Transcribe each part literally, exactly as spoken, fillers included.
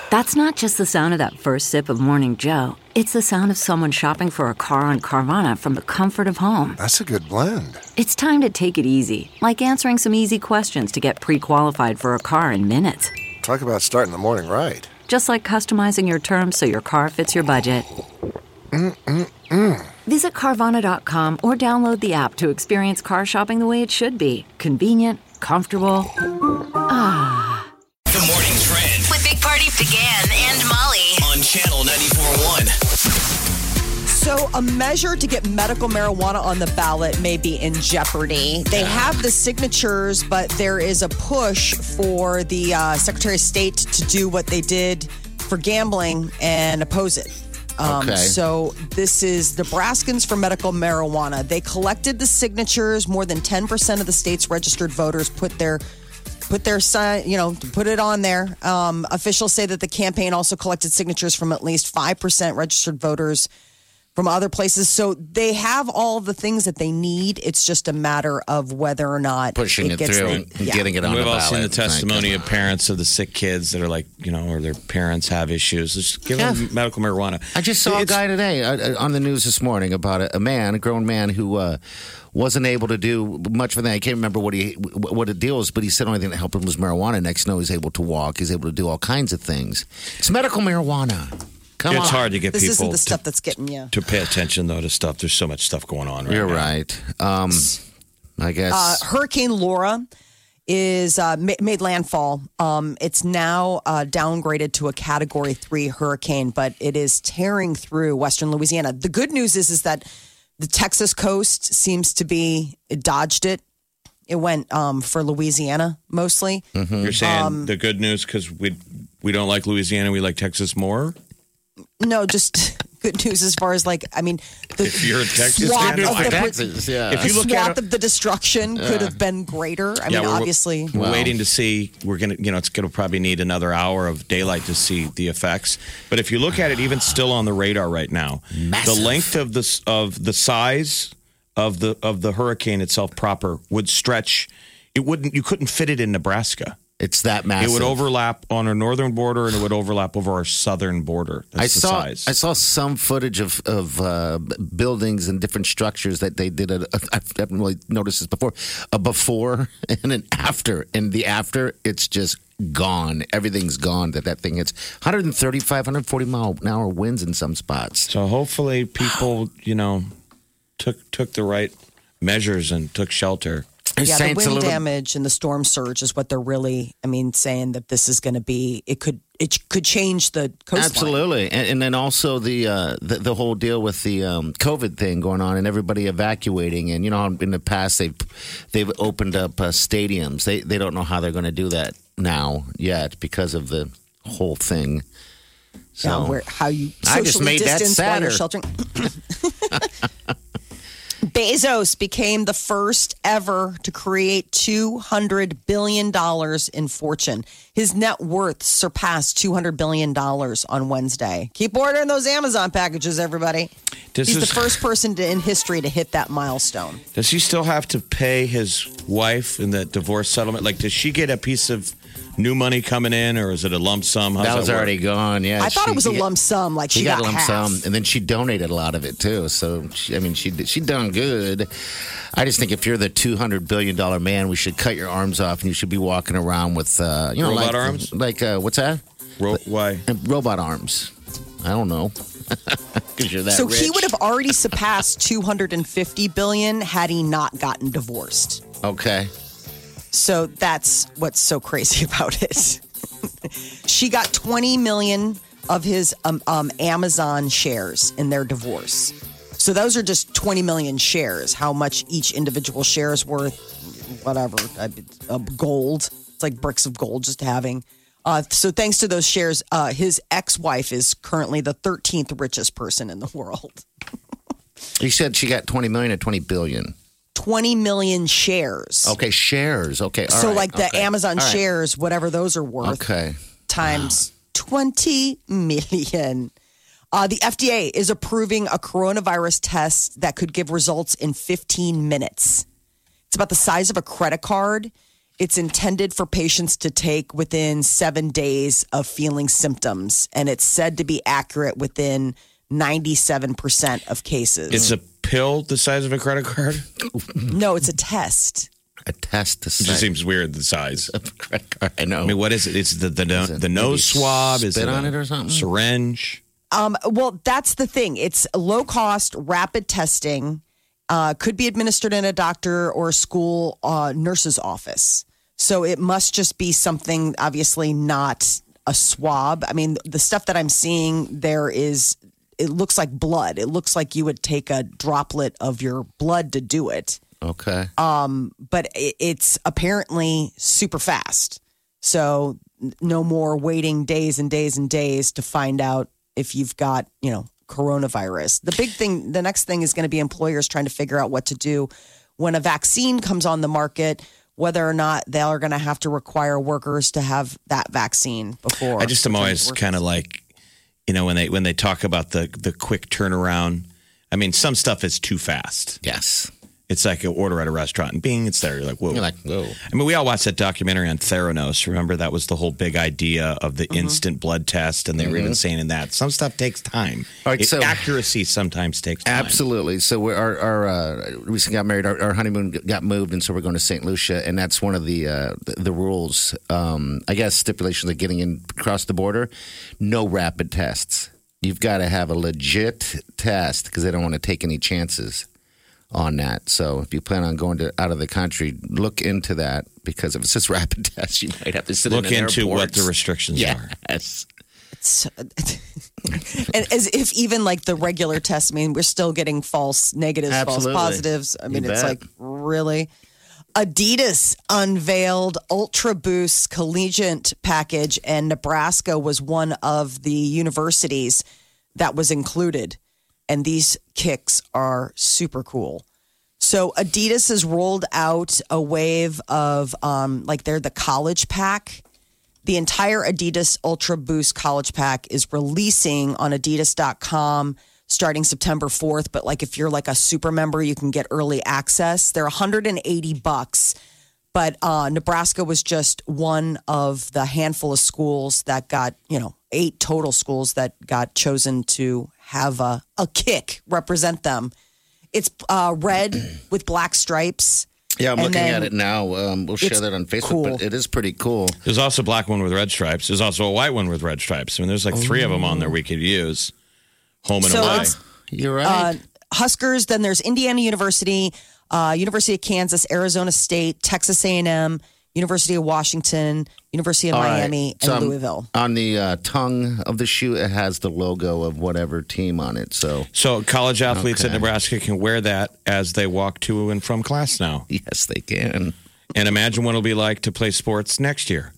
That's not just the sound of that first sip of Morning Joe. It's the sound of someone shopping for a car on Carvana from the comfort of home. That's a good blend. It's time to take it easy, like answering some easy questions to get pre-qualified for a car in minutes. Talk about starting the morning right. Just like customizing your terms so your car fits your budget. Mm-mm-mm. Visit Carvana dot com or download the app to experience car shopping the way it should be. Convenient, comfortable. Ah. The morning trend with Big Party began and Molly on Channel ninety-four point one. So a measure to get medical marijuana on the ballot may be in jeopardy. They have the signatures, but there is a push for the uh, Secretary of State to do what they did for gambling and oppose it. Um, okay. So this is Nebraskans for Medical Marijuana. They collected the signatures. More than ten percent of the state's registered voters put their put their sign, you know, put it on there. Um, officials say that the campaign also collected signatures from at least five percent registered voters from other places. So they have all the things that they need. It's just a matter of whether or not pushing it, it gets through the, and yeah. getting it on We've the all ballot. seen the testimony of parents of the sick kids that are like, you know, or their parents have issues. Just give Yeah. them medical marijuana. I just saw It's- a guy today uh, on the news this morning about a, a man, a grown man who uh, wasn't able to do much for that. I can't remember what he what the deal was, but he said the only thing that helped him was marijuana. Next, no, he's able to walk. He's able to do all kinds of things. It's medical marijuana. Come It's on. hard to get This people isn't the to, stuff that's getting you. to pay attention, though, to stuff. There's so much stuff going on right You're now. right. Um, I guess. Uh, Hurricane Laura is uh, ma- made landfall. Um, it's now uh, downgraded to a Category Three hurricane, but it is tearing through western Louisiana. The good news is is that the Texas coast seems to be it dodged it. It went um, for Louisiana mostly. You're saying Um, the good news because we we don't like Louisiana, we like Texas more? No, just good news as far as like I mean, the If you're a Texas swath fan, of fine. the, Texas, yeah. If the you look swath at it- of the destruction could have been greater. I mean, we're- obviously. We're Wow. waiting to see. We're going to, you know, it's going to probably need another hour of daylight to see the effects. But if you look at it, even still on the radar right now, Massive. the length of the, of the size of the, of the hurricane itself proper would stretch. It wouldn't, you couldn't fit it in Nebraska. It's that massive. It would overlap on our northern border and it would overlap over our southern border. That's I the saw size. I saw some footage of of uh, buildings and different structures that they did. A, a, I haven't really noticed this before. A before and an after, and the after, it's just gone. Everything's gone. That that thing hits one thirty-five, one forty mile an hour winds in some spots. So hopefully people, you know, took took the right measures and took shelter. They're Yeah, saying the it's a wind little- damage and the storm surge is what they're really, I mean, saying that this is going to be, it could it could change the coastline. Absolutely, and, and then also the, uh, the the whole deal with the um, COVID thing going on and everybody evacuating. And you know, in the past they've they've opened up uh, stadiums. They they don't know how they're going to do that now yet because of the whole thing. So Yeah, where, how you I just socially made that distance while you're sadder. sheltering. Bezos became the first ever to create two hundred billion dollars in fortune. His net worth surpassed two hundred billion dollars on Wednesday. Keep ordering those Amazon packages, everybody. This He's is- the first person to, in history to hit that milestone. Does he still have to pay his wife in that divorce settlement? Like, does she get a piece of new money coming in, or is it a lump sum? How's that was work? already gone. Yeah, I thought she- it was a she got- lump sum, like she, She got, a lump half. sum, and then she donated a lot of it too. So she, I mean, she she done good. I just think if you're the two hundred billion dollar man, we should cut your arms off, and you should be walking around with uh, you know Robot like, arms? like uh, what's that? Ro- why? Uh, Robot arms. I don't know. Because you're that So rich. he would have already surpassed two hundred fifty billion had he not gotten divorced. Okay. So that's what's so crazy about it. She got twenty million of his um, um, Amazon shares in their divorce. So those are just twenty million shares. How much each individual share is worth, whatever, uh, uh, gold. It's like bricks of gold just having. Uh, so thanks to those shares, uh, his ex-wife is currently the thirteenth richest person in the world. You said she got twenty million or twenty billion. twenty million shares. Okay, shares. Okay. all so right, like the okay. Amazon All right. shares, whatever those are worth. Okay. Times twenty million. Uh, the F D A is approving a coronavirus test that could give results in fifteen minutes. It's about the size of a credit card. It's intended for patients to take within seven days of feeling symptoms, and it's said to be accurate within ninety-seven percent of cases. It's a pill the size of a credit card? No, it's a test. A test to It just seems weird, the size. of a credit card. I know. I mean, what is it? It's the the, no, Is it the nose maybe swab? Is spit it on a it or something? Syringe? Um, well, that's the thing. It's low cost, rapid testing. Uh, could be administered in a doctor or a school uh, nurse's office. So it must just be something, obviously not a swab. I mean, the stuff that I'm seeing there is, it looks like blood. It looks like you would take a droplet of your blood to do it. Okay. Um, but it, it's apparently super fast. So n- no more waiting days and days and days to find out if you've got, you know, coronavirus. The big thing, the next thing is going to be employers trying to figure out what to do when a vaccine comes on the market, whether or not they are going to have to require workers to have that vaccine before. I just am always kind of like, you know, when they when they talk about the the quick turnaround. I mean, some stuff is too fast. Yes. It's like an order at a restaurant and bing, it's there. You're like, whoa. You're like, whoa. I mean, we all watched that documentary on Theranos. Remember, that was the whole big idea of the instant blood test. And they were even saying in that some stuff takes time. All right, It- so- accuracy sometimes takes time. Absolutely. So we're, our, our uh, recently got married. Our, our honeymoon got moved, and so we're going to Saint Lucia, and that's one of the uh, the, the rules. Um, I guess stipulations of getting in across the border. No rapid tests. You've got to have a legit test because they don't want to take any chances on that. So if you plan on going to out of the country, look into that because if it's just rapid tests, you might have to sit Look in an into airport. what the restrictions are. Yes. So, and as if even like the regular tests, I mean, we're still getting false negatives, Absolutely. false positives. I mean, You it's bet. like, really? Adidas unveiled Ultra Boost collegiate package, and Nebraska was one of the universities that was included. And these kicks are super cool. So Adidas has rolled out a wave of um, like they're the college pack. The entire Adidas Ultra Boost college pack is releasing on adidas dot com starting September fourth. But like if you're like a super member, you can get early access. They're one hundred eighty bucks. But uh, Nebraska was just one of the handful of schools that got, you know, eight total schools that got chosen to have a, a kick represent them. It's uh, red with black stripes. Yeah, I'm And looking then at it now. Um, we'll share it's that on Facebook, cool. but it is pretty cool. There's also a black one with red stripes. There's also a white one with red stripes. I mean, there's like three of them on there we could use. Home and So away. it's- You're right. Uh, Huskers, then there's Indiana University, uh, University of Kansas, Arizona State, Texas A and M, University of Washington, University of All right. Miami, and So, um, Louisville. On the uh, tongue of the shoe, it has the logo of whatever team on it. So, So college athletes at Okay. Nebraska can wear that as they walk to and from class now. yes, they can. And imagine what it'll be like to play sports next year.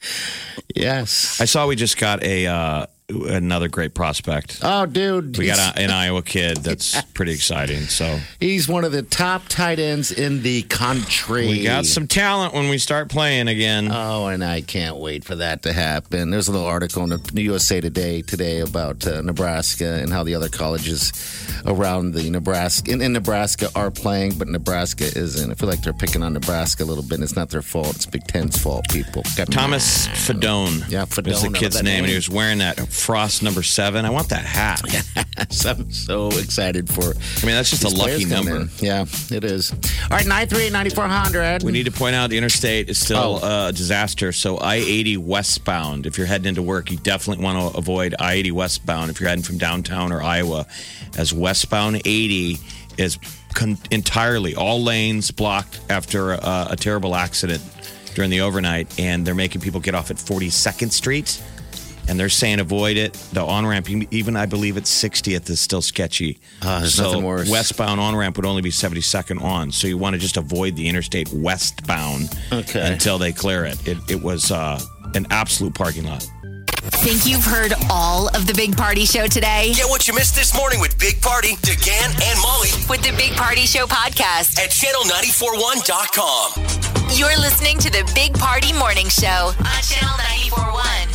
Yes. I saw we just got a uh, another great prospect. oh, dude. We he's, got a, an Iowa kid that's pretty exciting. So he's one of the top tight ends in the country. we got some talent when we start playing again. Oh, and I can't wait for that to happen. There's a little article in the U S A Today today about uh, Nebraska and how the other colleges around the Nebraska in, in Nebraska are playing, but Nebraska isn't. I feel like they're picking on Nebraska a little bit. And it's not their fault. It's Big Ten's fault. People. Got Thomas Fedone. Yeah, is Fedone, the I kid's love that name, and he name. was wearing that Frost number seven. I want that hat. So I'm so excited for. I mean, that's just a these lucky players coming number. in. Yeah, it is. All right, nine three eight, nine four hundred. We need to point out the interstate is still Oh. uh, a disaster. So I eighty westbound, if you're heading into work, you definitely want to avoid I eighty westbound if you're heading from downtown or Iowa, as westbound eighty is con- entirely all lanes blocked after a, a terrible accident during the overnight, and they're making people get off at forty-second Street. And they're saying avoid it. The on-ramp, even I believe it's sixtieth, is still sketchy. Ah, there's so nothing worse. westbound on-ramp would only be seventy-second on. So you want to just avoid the interstate westbound Okay. until they clear it. It, it was uh, an absolute parking lot. Think you've heard all of the Big Party Show today? Get what you missed this morning with Big Party, DeGan, and Molly With the Big Party Show podcast. at channel nine four one dot com. You're listening to the Big Party Morning Show on Channel ninety-four point one.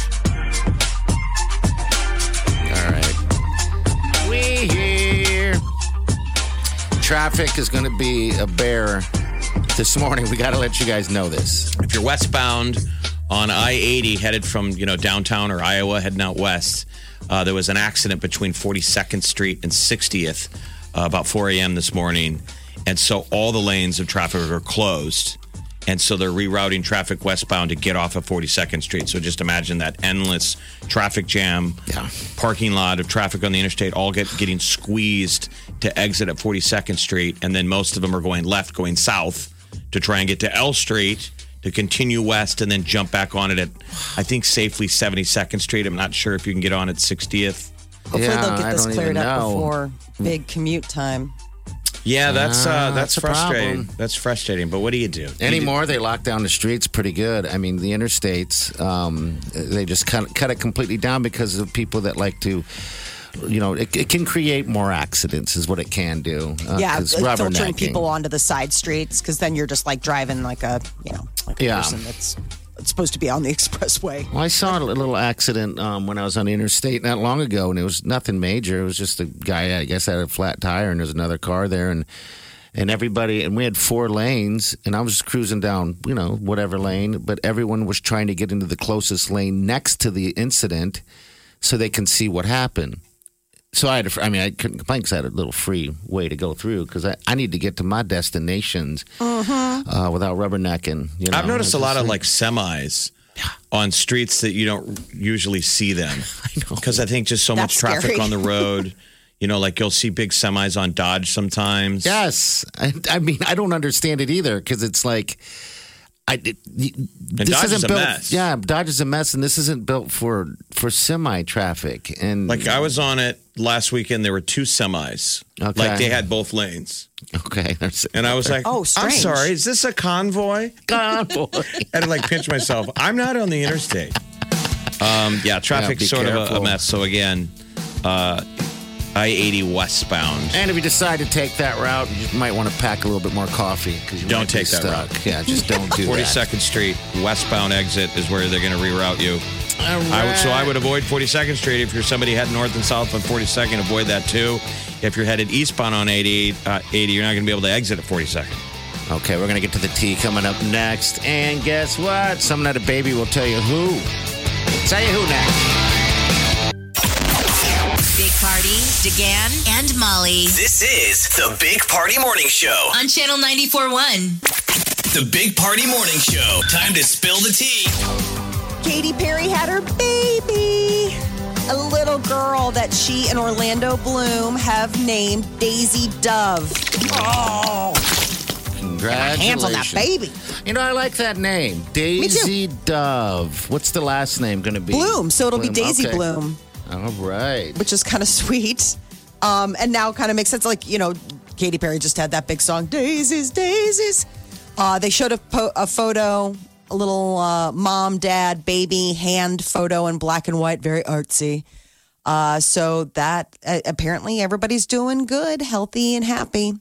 All right. We here. Traffic is going to be a bear this morning. We got to let you guys know this. If you're westbound on I eighty headed from, you know, downtown or Iowa heading out west, uh, there was an accident between forty-second Street and sixtieth uh, about four a.m. this morning. And so all the lanes of traffic are closed. And so they're rerouting traffic westbound to get off of forty-second Street. So just imagine that endless traffic jam, Yeah. parking lot of traffic on the interstate, all get getting squeezed to exit at forty-second Street. And then most of them are going left, going south to try and get to L Street to continue west and then jump back on it at, I think, safely seventy-second Street. I'm not sure if you can get on at sixtieth. Hopefully Yeah, they'll get I this don't cleared even up know. before big commute time. Yeah, that's uh, Ah, that's, that's a frustrating. problem. That's frustrating. But what do you do? Anymore, they lock down the streets pretty good. I mean, the interstates, um, they just cut, cut it completely down because of people that like to, you know, it, it can create more accidents is what it can do. Uh, Yeah, 'cause uh, filtering rubbernecking. people onto the side streets because then you're just like driving like a, you know, like a Yeah. person that's, that's supposed to be on the expressway. Well, I saw a little accident um, when I was on the interstate not long ago, and it was nothing major. It was just a guy, I guess, had a flat tire, and there's another car there, and and everybody, and we had four lanes, and I was just cruising down, you know, whatever lane, but everyone was trying to get into the closest lane next to the incident so they can see what happened. So I had, a, I mean, I couldn't complain because I had a little free way to go through because I, I need to get to my destinations uh, without rubbernecking. You know? I've noticed a It's lot just of like semis on streets that you don't usually see them. I know. Because I think just so much That's traffic scary. on the road. You know, like you'll see big semis on Dodge sometimes. Yes, I, I mean I don't understand it either because it's like, I it, this Dodge isn't is a built. mess. Yeah, Dodge is a mess, and this isn't built for for semi traffic. And Like I was on it last weekend, there were two semis. Okay. Like they had both lanes. okay, there's And I was like, Oh, I'm strange. sorry, is this a convoy? God, boy. I had to like pinch myself. I'm not on the interstate. Um, yeah, traffic's be sort of a, a careful. mess. So again, uh, I eighty westbound. And if you decide to take that route, you might want to pack a little bit more coffee because you Don't might be take that stuck. route. Yeah, just don't do that. forty-second Street westbound exit is where they're going to reroute you. I would, so I would avoid forty-second Street. If you're somebody heading north and south on forty-second, avoid that too. If you're headed eastbound on eighty, uh, eighty, you're not going to be able to exit at forty-second. Okay, we're gonna get to the tea coming up next, and guess what? Some night a baby will tell you who. Tell you who next. Big Party, DeGan, and Molly This is the Big Party Morning Show. on Channel ninety-four point one. The Big Party Morning Show. Time to spill the tea. Katy Perry had her baby, a little girl that she and Orlando Bloom have named Daisy Dove. Oh, Congratulations. hands on that baby. You know, I like that name. Daisy Dove. What's the last name going to be? Bloom, so it'll be Bloom, Daisy okay. Bloom, All right. which is kind of sweet. Um, and now kind of makes sense. Like, you know, Katy Perry just had that big song, Daisies, Daisies. Uh, they showed a, po- a photo, a little uh, mom, dad, baby hand photo in black and white, very artsy. Uh, so that uh, apparently everybody's doing good, healthy, and happy.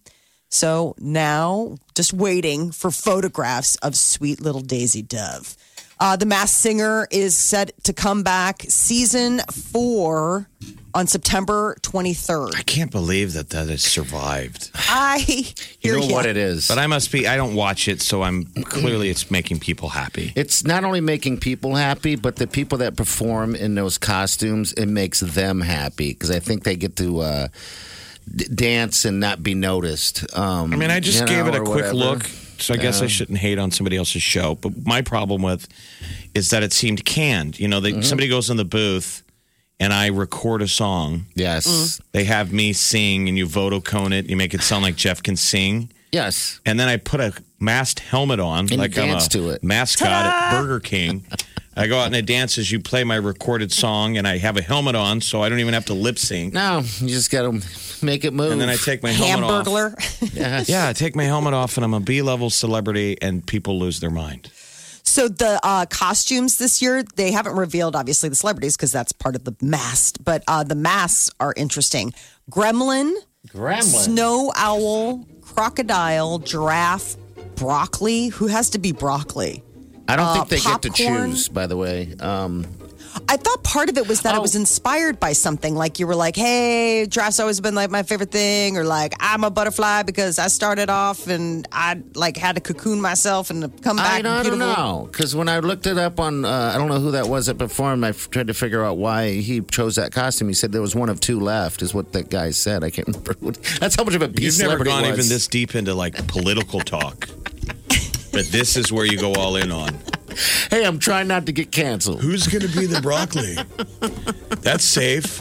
So now just waiting for photographs of sweet little Daisy Dove. Uh, the Masked Singer is set to come back season four on September twenty-third. I can't believe that that has survived. I You hear know ya. what it is? But I must be, I don't watch it, so I'm clearly it's making people happy. It's not only making people happy, but the people that perform in those costumes, it makes them happy because I think they get to uh, d- dance and not be noticed. Um, I mean, I just you gave know, it a or quick whatever. look, so I guess I Yeah. shouldn't hate on somebody else's show. But my problem with is that it seemed canned. You know, they, somebody goes in the booth and I record a song. Yes. They have me sing, and you vote-o-cone it. You make it sound like Jeff can sing. Yes. And then I put a masked helmet on, you like I'm a dance to it. mascot at Burger King. I go out and I dance as you play my recorded song, and I have a helmet on, so I don't even have to lip sync. No, you just got to make it move. And then I take my helmet off. Hamburglar. Yes. Yeah, I take my helmet off, and I'm a B-level celebrity, and people lose their mind. So the uh, costumes this year, they haven't revealed, obviously, the celebrities because that's part of the mask. But uh, the masks are interesting. Gremlin, Gremlin. snow owl, crocodile, giraffe, broccoli. Who has to be broccoli? I don't Uh, think they get to popcorn. choose, by the way. Um, I thought part of it was that Oh. it was inspired by something. Like you were like, hey, draft's always been like my favorite thing. Or like, I'm a butterfly because I started off and I like had to cocoon myself and come back. I don't, I don't beautiful. know. Because when I looked it up on, uh, I don't know who that was that performed, I f- tried to figure out why he chose that costume. He said there was one of two left, is what that guy said. I can't remember. What, that's how much of a piece You've never celebrity gone was. even this deep into like political talk. But this is where you go all in on. Hey, I'm trying not to get canceled. Who's going to be the broccoli? That's safe.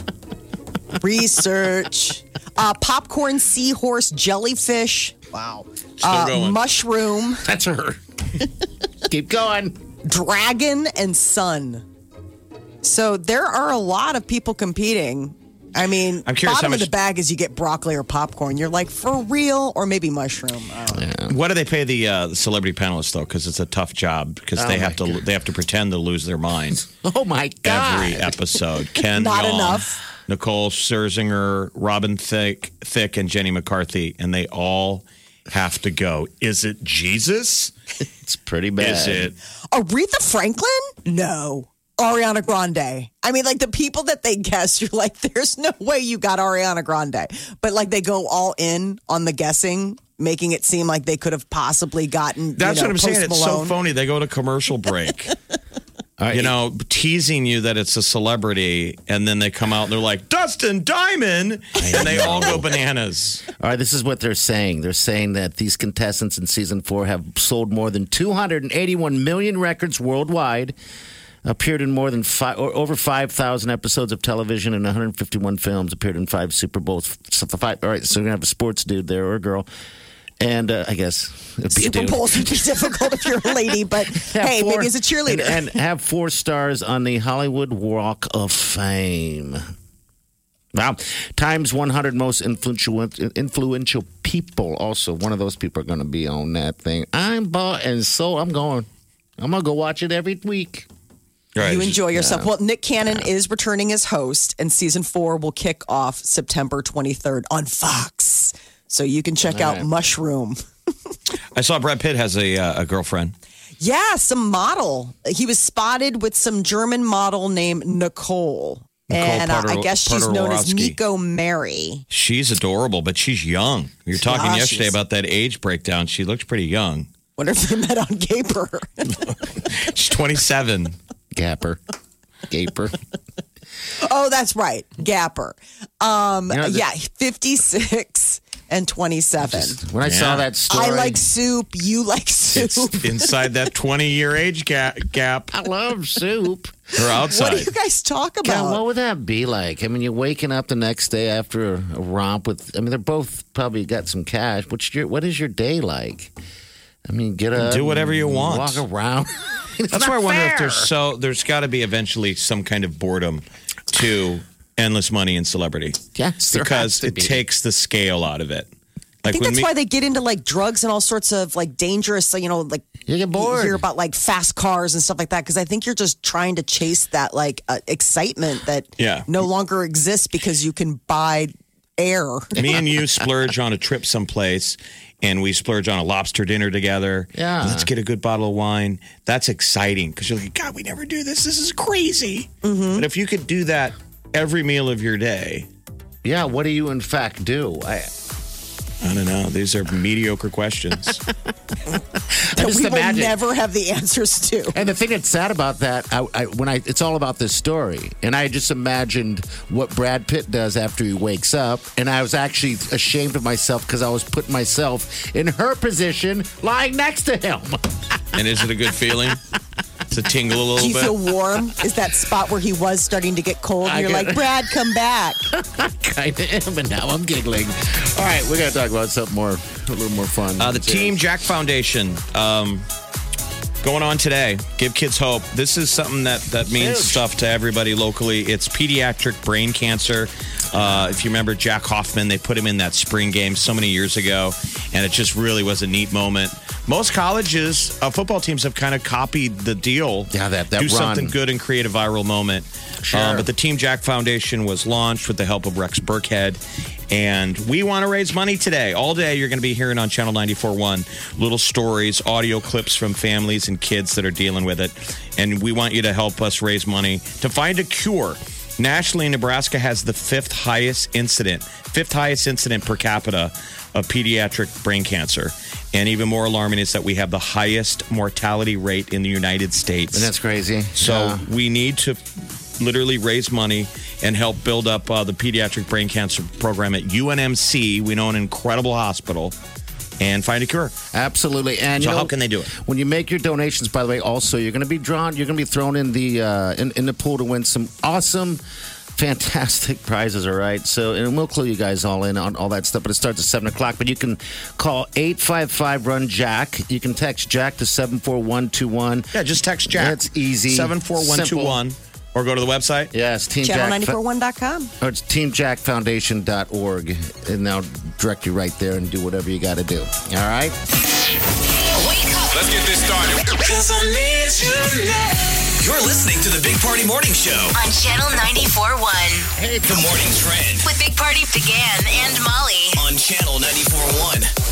Research. uh, popcorn, seahorse, jellyfish. Wow. Still Uh, going. mushroom, That's her. Keep going. dragon, and sun. So there are a lot of people competing. I mean, I'm curious bottom how of the much- bag is you get broccoli or popcorn. You're like, for real? Or maybe mushroom. I don't know. What do they pay the, uh, the celebrity panelists though? Because it's a tough job because Oh, they my have to God. they have to pretend to lose their minds Oh, my God. every episode. Ken Not Jeong, enough. Nicole Scherzinger, Robin Thicke, Thicke, and Jenny McCarthy, and they all have to go. Is it Jesus? It's pretty bad. Is it? Aretha Franklin? No. Ariana Grande. I mean, like the people that they guess, you're like, there's no way you got Ariana Grande. But like they go all in on the guessing, making it seem like they could have possibly gotten. That's you know, what I'm saying. Post It's so Malone. phony. They go to commercial break. All right, You know, teasing you that it's a celebrity, and then they come out and they're like, Dustin Diamond, and they all go bananas. All right, this is what they're saying. They're saying that these contestants in season four have sold more than two hundred eighty-one million records worldwide, appeared in more than five, or over five thousand episodes of television and one hundred fifty-one films, appeared in five Super Bowls. So the five, all right, so we're going to have a sports dude there or a girl. And uh, I guess it'd be a Super dude. Bowls would be difficult if you're a lady, but Have hey, four- maybe as a cheerleader. And, and have four stars on the Hollywood Walk of Fame. Wow. Times one hundred most influential influential people. Also, one of those people are going to be on that thing. I'm bought and so I'm going. I'm going to go watch it every week. Right. You enjoy yourself. Well, Nick Cannon is returning as host, and season four will kick off September twenty-third on Fox. So you can check out right. Mushroom. I saw Brad Pitt has a, uh, a girlfriend. Yeah, some model. He was spotted with some German model named Nicole. Nicole and uh, I Potter- guess she's known as Potter-Orowski. Miko Mary. She's adorable, but she's young. You were talking Ah, yesterday she's- about that age breakdown. She looks pretty young. Wonder if they met on Gaper. She's twenty-seven. Gapper. Gaper. Oh, that's right. Gapper. Um, You know, the- yeah, fifty-six and twenty-seven. When I saw Yeah. that story. I like soup. You like soup. It's inside that twenty-year age ga- gap I love soup. or What outside. do you guys talk God, about? what would that be like? I mean, you're waking up the next day after a, a romp with. I mean, they're both probably got some cash. What's your What is your day like? I mean, get up, Do whatever you want. walk around. It's That's not why I wonder fair. if there's so there's got to be eventually some kind of boredom to endless money and celebrity. Yes, there because has to it be. takes the scale out of it. I Like think when that's me- why they get into like drugs and all sorts of like dangerous, you know, like You get bored. hear about like fast cars and stuff like that. Because I think you're just trying to chase that like uh, excitement that Yeah. no longer exists because you can buy air. me and you splurge on a trip someplace and we splurge on a lobster dinner together. Yeah. Let's get a good bottle of wine. That's exciting because you're like, God, we never do this. This is crazy. Mm-hmm. But if you could do that every meal of your day, Yeah, what do you in fact do? I, I don't know. These are mediocre questions. that just we will imagine- never have the answers to. And the thing that's sad about that, I, I, when I, it's all about this story, and I just imagined what Brad Pitt does after he wakes up, and I was actually ashamed of myself because I was putting myself in her position, lying next to him. And is it a good feeling? To tingle a little Do you bit. feel warm? Is that spot where he was starting to get cold? And I you're get- like, Brad, come back. Kind of am, and now I'm giggling. All right, we're gonna talk about something more, a little more fun. Uh, the Team Jack Foundation um, going on today. Give kids hope. This is something that, that means Huge. stuff to everybody locally. It's pediatric brain cancer. Uh, if you remember Jack Hoffman, they put him in that spring game so many years ago, and it just really was a neat moment. Most colleges, uh, football teams have kind of copied the deal. Yeah, that- that Do run. something good and create a viral moment. Sure. Um, but the Team Jack Foundation was launched with the help of Rex Burkhead. And we want to raise money today. All day, you're going to be hearing on Channel ninety-four point one little stories, audio clips from families and kids that are dealing with it. And we want you to help us raise money to find a cure. Nationally, Nebraska has the fifth highest incident, fifth highest incident per capita of pediatric brain cancer. And even more alarming is that we have the highest mortality rate in the United States. And that's crazy. So Yeah. we need to literally raise money and help build up uh, the pediatric brain cancer program at U N M C. We know an incredible hospital. And find a cure. Absolutely. And So you know, how can they do it? When you make your donations, by the way, also you're going to be drawn. You're going to be thrown in the uh, in, in the pool to win some awesome, fantastic prizes. All right. So and we'll clue you guys all in on all that stuff. But it starts at seven o'clock. But you can call eight five five run Jack. You can text Jack to seven four one two one. Yeah, just text Jack. That's easy. seven four one two one. Or go to the website. Yes, Team channel Jack. nine four one dot com. Or it's team jack foundation dot org. And they'll direct you right there and do whatever you got to do. All right? Wake up Let's get this started. You're listening to the Big Party Morning Show. on Channel ninety-four point one Hey, the morning trend with Big Party began and Molly. on Channel ninety-four point one.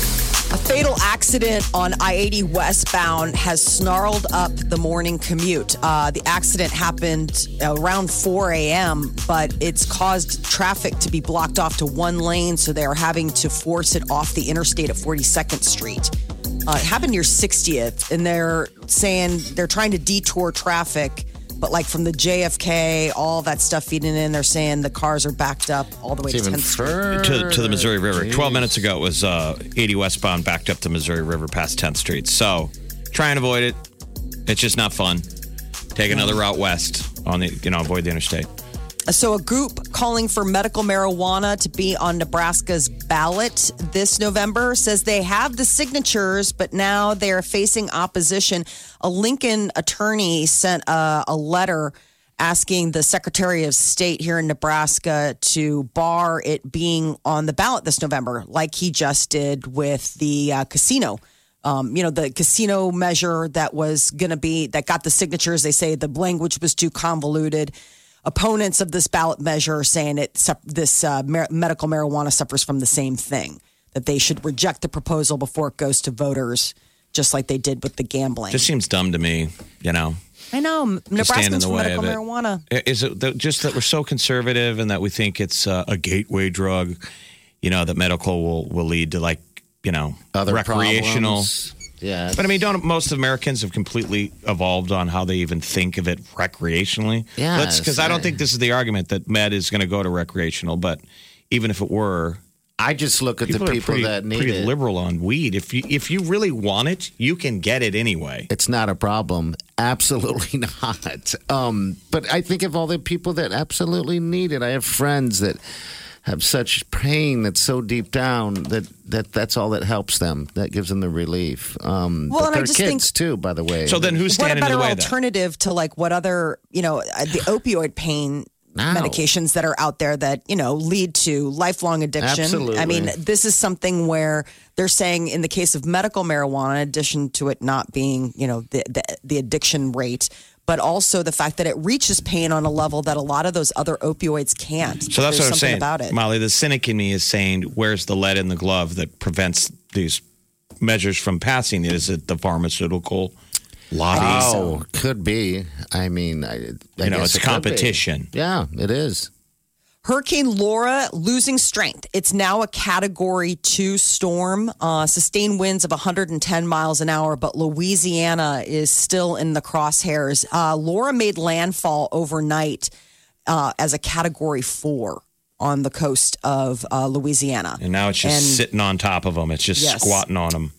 A fatal accident on I eighty westbound has snarled up the morning commute. Uh, the accident happened around four a.m., but it's caused traffic to be blocked off to one lane, so they're having to force it off the interstate at forty-second Street. Uh, it happened near sixtieth, and they're saying they're trying to detour traffic, but like from the J F K, all that stuff feeding in, they're saying the cars are backed up all the way It's to even tenth Street. further. To, to the Missouri River. Jeez. twelve minutes ago, it was uh, eighty westbound backed up the Missouri River past tenth Street. So try and avoid it. It's just not fun. Take another route west on the, you know, avoid the interstate. So, a group calling for medical marijuana to be on Nebraska's ballot this November says they have the signatures, but now they are facing opposition. A Lincoln attorney sent a, a letter asking the Secretary of State here in Nebraska to bar it being on the ballot this November, like he just did with the uh, casino. Um, you know, the casino measure that was going to be, that got the signatures. They say the language was too convoluted. Opponents of this ballot measure are saying it, this uh, mar- medical marijuana suffers from the same thing, that they should reject the proposal before it goes to voters, just like they did with the gambling. Just seems dumb to me, you know. I know. to stand in Nebraskans the for way medical of it. marijuana. Is it that- just that we're so conservative and that we think it's uh, a gateway drug, you know, that medical will, will lead to, like, you know, Other recreational. problems. Yeah. But I mean, don't most Americans have completely evolved on how they even think of it recreationally? Yes, Because I don't I- think this is the argument that med is going to go to recreational, but even if it were, I just look at people, the are people pretty, that need pretty it. liberal on weed. If you if you really want it, you can get it anyway. It's not a problem. Absolutely not. Um, but I think of all the people that absolutely need it. I have friends that have such pain that's so deep down that, that that's all that helps them. That gives them the relief. Um, Well, but and I they're just kids think- too, by the way. So then who's What a standing in better the way then? alternative to like what other, you know, uh, the opioid pain No. medications that are out there that, you know, lead to lifelong addiction. Absolutely. I mean, this is something where they're saying in the case of medical marijuana, in addition to it not being, you know, the, the, the addiction rate, but also the fact that it reaches pain on a level that a lot of those other opioids can't. So that's There's what I'm something saying, about it. Molly. The cynic in me is saying, "Where's the lead in the glove that prevents these measures from passing? Is it the pharmaceutical lobby? Oh, could be. I mean, I, I You know, guess it's it could be. competition. Yeah, it is. Hurricane Laura losing strength. It's now a category two storm, uh, sustained winds of one hundred ten miles an hour, but Louisiana is still in the crosshairs. Uh, Laura made landfall overnight uh, as a category four on the coast of uh, Louisiana. And now it's just And- sitting on top of them. It's just Yes. squatting on them.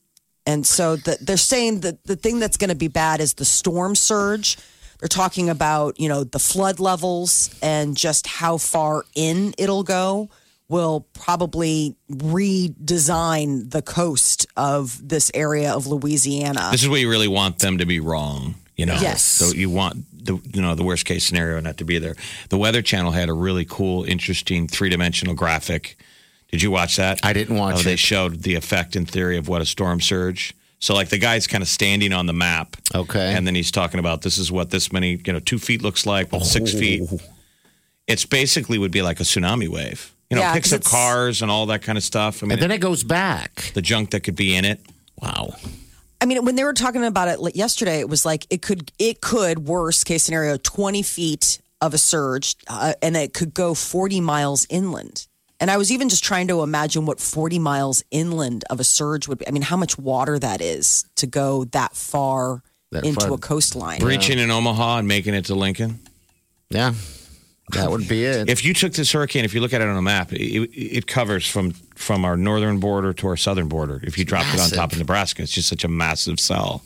And so the, they're saying that the thing that's going to be bad is the storm surge. They're talking about, you know, the flood levels and just how far in it'll go will probably redesign the coast of this area of Louisiana. This is where you really want them to be wrong. You know, Yes. So you want the you know the worst case scenario not to be there. The Weather Channel had a really cool, interesting three dimensional graphic. Did you watch that? I didn't watch Oh, They it. showed the effect and theory of what a storm surge. So like the guy's kind of standing on the map. Okay. And then he's talking about this is what this many, you know, two feet looks like with six Oh. feet. It's basically would be like a tsunami wave. You know, Yeah, picks 'cause up it's- cars and all that kind of stuff. I mean, And then it goes back. the junk that could be in it. Wow. I mean, when they were talking about it like, yesterday, it was like it could, it could, worst case scenario, twenty feet of a surge, uh, and it could go forty miles inland. And I was even just trying to imagine what forty miles inland of a surge would be. I mean, how much water that is to go that far That into far. a coastline. Breaching in Omaha and making it to Lincoln. Yeah. That would be it. If you took this hurricane, if you look at it on a map, it, it covers from from our northern border to our southern border. If you dropped it on massive. top of Nebraska, it's just such a massive cell.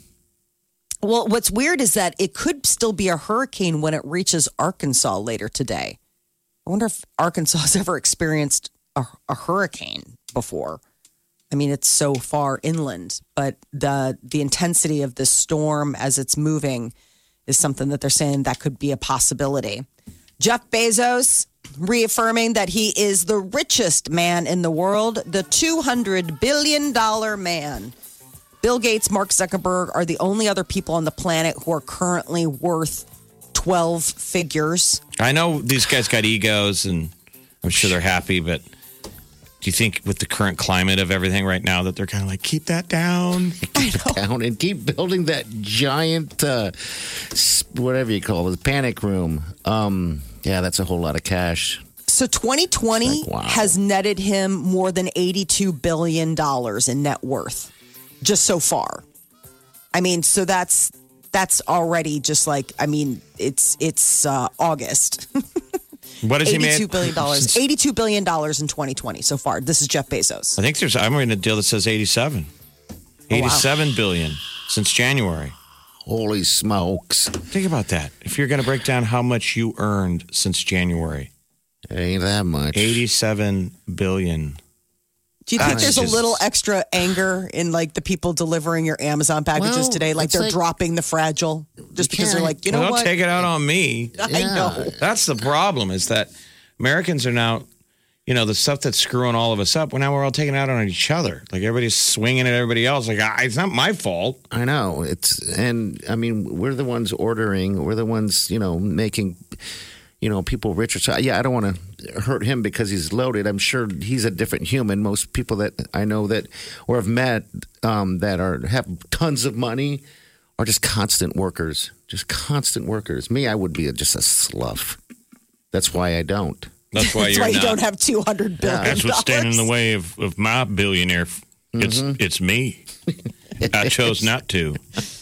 Well, what's weird is that it could still be a hurricane when it reaches Arkansas later today. I wonder if Arkansas has ever experienced a, a hurricane before. I mean, it's so far inland, but the the intensity of this storm as it's moving is something that they're saying that could be a possibility. Jeff Bezos reaffirming that he is the richest man in the world, the two hundred billion dollars man. Bill Gates, Mark Zuckerberg are the only other people on the planet who are currently worth twelve figures. I know these guys got egos, and I'm sure they're happy, but do you think with the current climate of everything right now that they're kind of like, keep that down? Keep it down and keep building that giant, uh, s- whatever you call it, panic room. Um, yeah, that's a whole lot of cash. So twenty twenty It's like, wow. has netted him more than eighty-two billion dollars in net worth just so far. I mean, so that's that's already just like, I mean, it's it's uh, August. What has he made? eighty-two billion dollars. eighty-two billion dollars in twenty twenty so far. This is Jeff Bezos. I think there's, I'm reading a deal that says eighty-seven. eighty-seven billion since January. Holy smokes. Think about that. If you're going to break down how much you earned since January, It ain't that much. eighty-seven billion. Do you think That's there's just- a little extra anger in like the people delivering your Amazon packages Well, today? Like it's they're like- dropping the fragile just because they're can't- like, you know Well, don't what? take it out on me. I Yeah. know. That's the problem is that Americans are now, you know, the stuff that's screwing all of us up. Well, now we're all taking it out on each other. Like everybody's swinging at everybody else. Like, ah, it's not my fault. I know. It's, and I mean, we're the ones ordering, we're the ones, you know, making, you know, people richer. So, yeah, I don't want to hurt him because he's loaded. I'm sure he's a different human. Most people that I know that or have met um, that are have tons of money are just constant workers, just constant workers. Me, I would be a, just a slough. That's why I don't. That's why That's you're why you not. don't have two hundred billion dollars. That's what's standing in the way of, of my billionaire. It's it's me. I chose not to.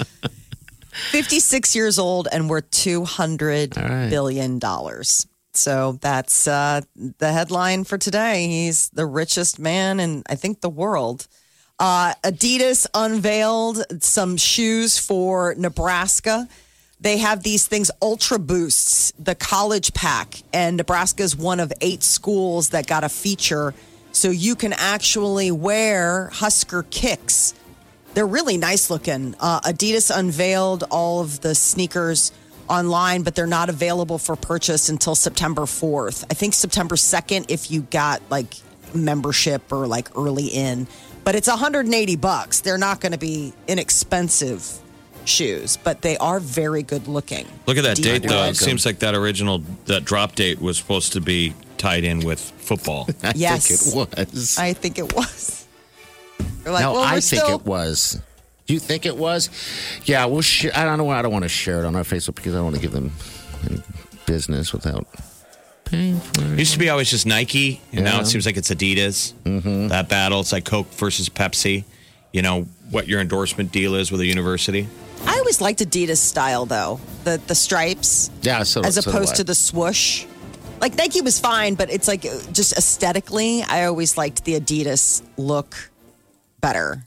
fifty-six years old and worth two hundred right. billion dollars. So that's uh, the headline for today. He's the richest man in, I think, the world. Uh, Adidas unveiled some shoes for Nebraska. They have these things, Ultra Boosts, the college pack. And Nebraska is one of eight schools that got a feature. So you can actually wear Husker kicks. They're really nice looking. Uh, Adidas unveiled all of the sneakers online, but they're not available for purchase until September fourth. I think September second if you got like membership or like early in. But it's one hundred eighty bucks. They're not going to be inexpensive shoes, but they are very good looking. Look at that Do you date, though. like It seems like that original that drop date was supposed to be tied in with football. I Yes. think it was. I think it was. They're like, no, well, we're I think still- it was. Do you think it was? Yeah, we'll share. I don't know. I don't want to share it on our Facebook because I don't want to give them any business without paying for it. Used to be always just Nike, and now Yeah. it seems like it's Adidas. Mm-hmm. That battle, it's like Coke versus Pepsi. You know what your endorsement deal is with a university. I always liked Adidas style though, the the stripes. Yeah, so as so do opposed I. to the swoosh. Like Nike was fine, but it's like uh, just aesthetically, I always liked the Adidas look better.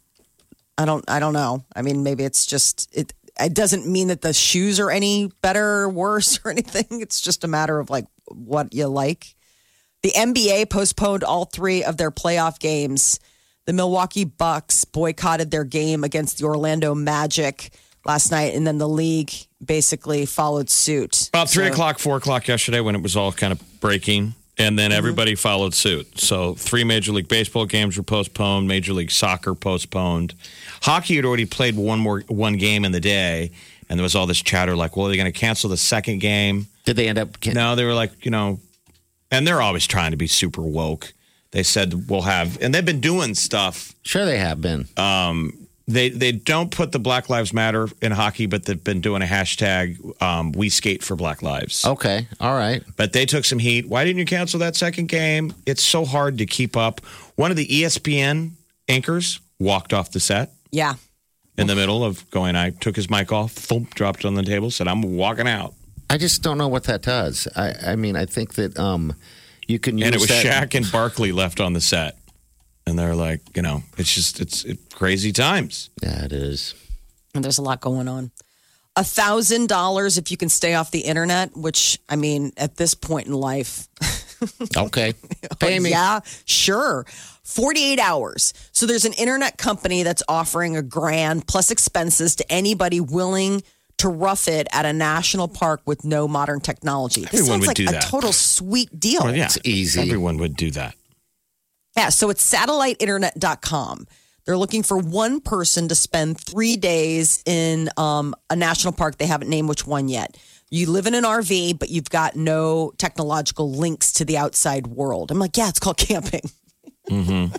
I don't I don't know. I mean, maybe it's just it it doesn't mean that the shoes are any better or worse or anything. It's just a matter of like what you like. The N B A postponed all three of their playoff games. The Milwaukee Bucks boycotted their game against the Orlando Magic last night, and then the league basically followed suit. About three So- o'clock, four o'clock yesterday when it was all kind of breaking, and then everybody followed suit. So three Major League Baseball games were postponed, Major League Soccer postponed. Hockey had already played one more one game in the day, and there was all this chatter like, well, are they going to cancel the second game? Did they end up? Can- No, they were like, you know, And they're always trying to be super woke. They said we'll have, and they've been doing stuff. Sure, they have been. Um, they they don't put the Black Lives Matter in hockey, but they've been doing a hashtag um, We Skate for Black Lives. Okay, all right. But they took some heat. Why didn't you cancel that second game? It's so hard to keep up. One of the E S P N anchors walked off the set. Yeah. In the middle of going, I took his mic off, thump, dropped it on the table, said, I'm walking out. I just don't know what that does. I, I mean, I think that um, you can use And it was that. Shaq and Barkley left on the set. And they're like, you know, it's just, it's, it's crazy times. Yeah, it is. And there's a lot going on. A thousand dollars if you can stay off the internet, which, I mean, at this point in life. Okay. Pay me. Yeah, sure. forty-eight hours. So there's an internet company that's offering a grand plus expenses to anybody willing to rough it at a national park with no modern technology. This Everyone sounds would like do a that. total sweet deal. Well, yeah, It's easy. Everyone would do that. Yeah, so it's satellite internet dot com. They're looking for one person to spend three days in um, a national park. They haven't named which one yet. You live in an R V, but you've got no technological links to the outside world. I'm like, yeah, it's called camping. Mm-hmm.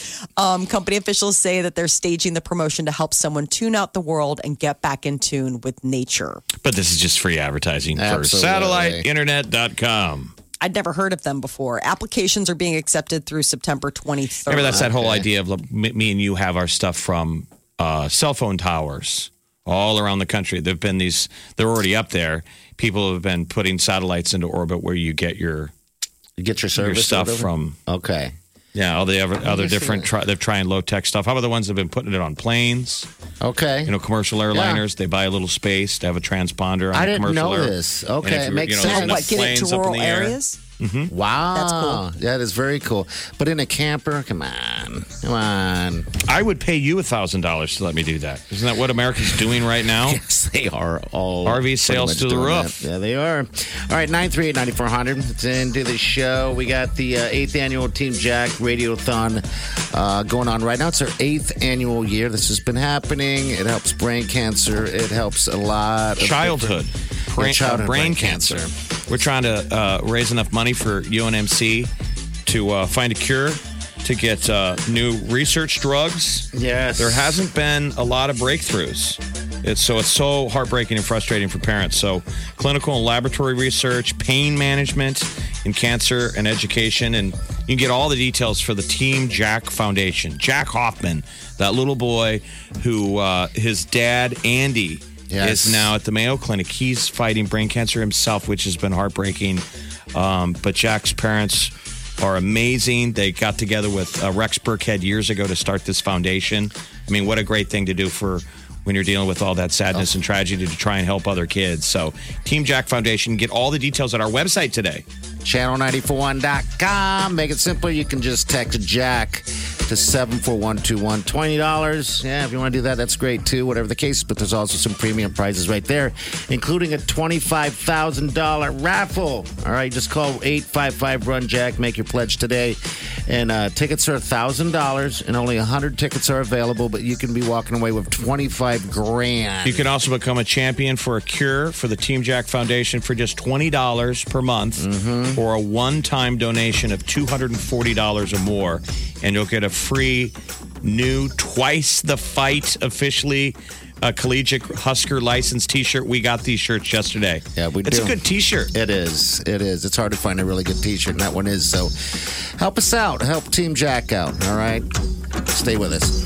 um, company officials say that they're staging the promotion to help someone tune out the world and get back in tune with nature. But this is just free advertising for Absolutely. satellite internet dot com. I'd never heard of them before. Applications are being accepted through September twenty-third. Remember, that's that whole Okay. idea of like, me me and you have our stuff from uh, cell phone towers all around the country. There've been these; they're already up there. People have been putting satellites into orbit where you get your You get your your service stuff or whatever? from. Okay. Yeah, all the other, other you see different. that? Try, they're trying low tech stuff. How about the ones that have been putting it on planes? Okay. You know, commercial airliners. They buy a little space to have a transponder on I a didn't commercial know air- this. And Okay, if it you- makes you know, sense. there's Oh, enough what, get it planes to up in rural the air. areas? Wow. That's cool. That is very cool. But in a camper, come on. Come on. I would pay you a thousand dollars to let me do that. Isn't that what America's doing right now? Yes, they are all. R V pretty sales much to the doing roof. that. Yeah, they are. All right, nine three eight, nine four zero zero. It's into the show. We got the uh, eighth annual Team Jack Radiothon uh, going on right now. It's our eighth annual year. This has been happening. It helps brain cancer. It helps a lot of Childhood, different- brain, Yeah, childhood uh, brain cancer. We're trying to uh, raise enough money for U N M C to uh, find a cure, to get uh, new research drugs. Yes. There hasn't been a lot of breakthroughs. It's so it's so heartbreaking and frustrating for parents. So clinical and laboratory research, pain management in cancer and education. And you can get all the details for the Team Jack Foundation. Jack Hoffman, that little boy who uh, his dad, Andy, Yes. is now at the Mayo Clinic. He's fighting brain cancer himself, which has been heartbreaking. Um, but Jack's parents are amazing. They got together with uh, Rex Burkhead years ago to start this foundation. I mean, what a great thing to do for when you're dealing with all that sadness and tragedy, to try and help other kids. So Team Jack Foundation, get all the details at our website today. channel nine four one dot com. Make it simple. You can just text Jack to seven four one two one. twenty dollars. Yeah, if you want to do that, that's great too, whatever the case. But there's also some premium prizes right there, including a twenty-five thousand dollars raffle. All right, just call eight five five run Jack. Make your pledge today. And uh, tickets are one thousand dollars, and only one hundred tickets are available, but you can be walking away with twenty-five grand. You can also become a champion for a cure for the Team Jack Foundation for just twenty dollars per month, or a one-time donation of two hundred forty dollars or more, and you'll get a free new Twice the Fight officially uh, collegiate Husker licensed T-shirt. We got these shirts yesterday. Yeah, we It's do. a good T-shirt. It is. It is. It's hard to find a really good T-shirt, and that one is. So help us out. Help Team Jack out. All right? Stay with us.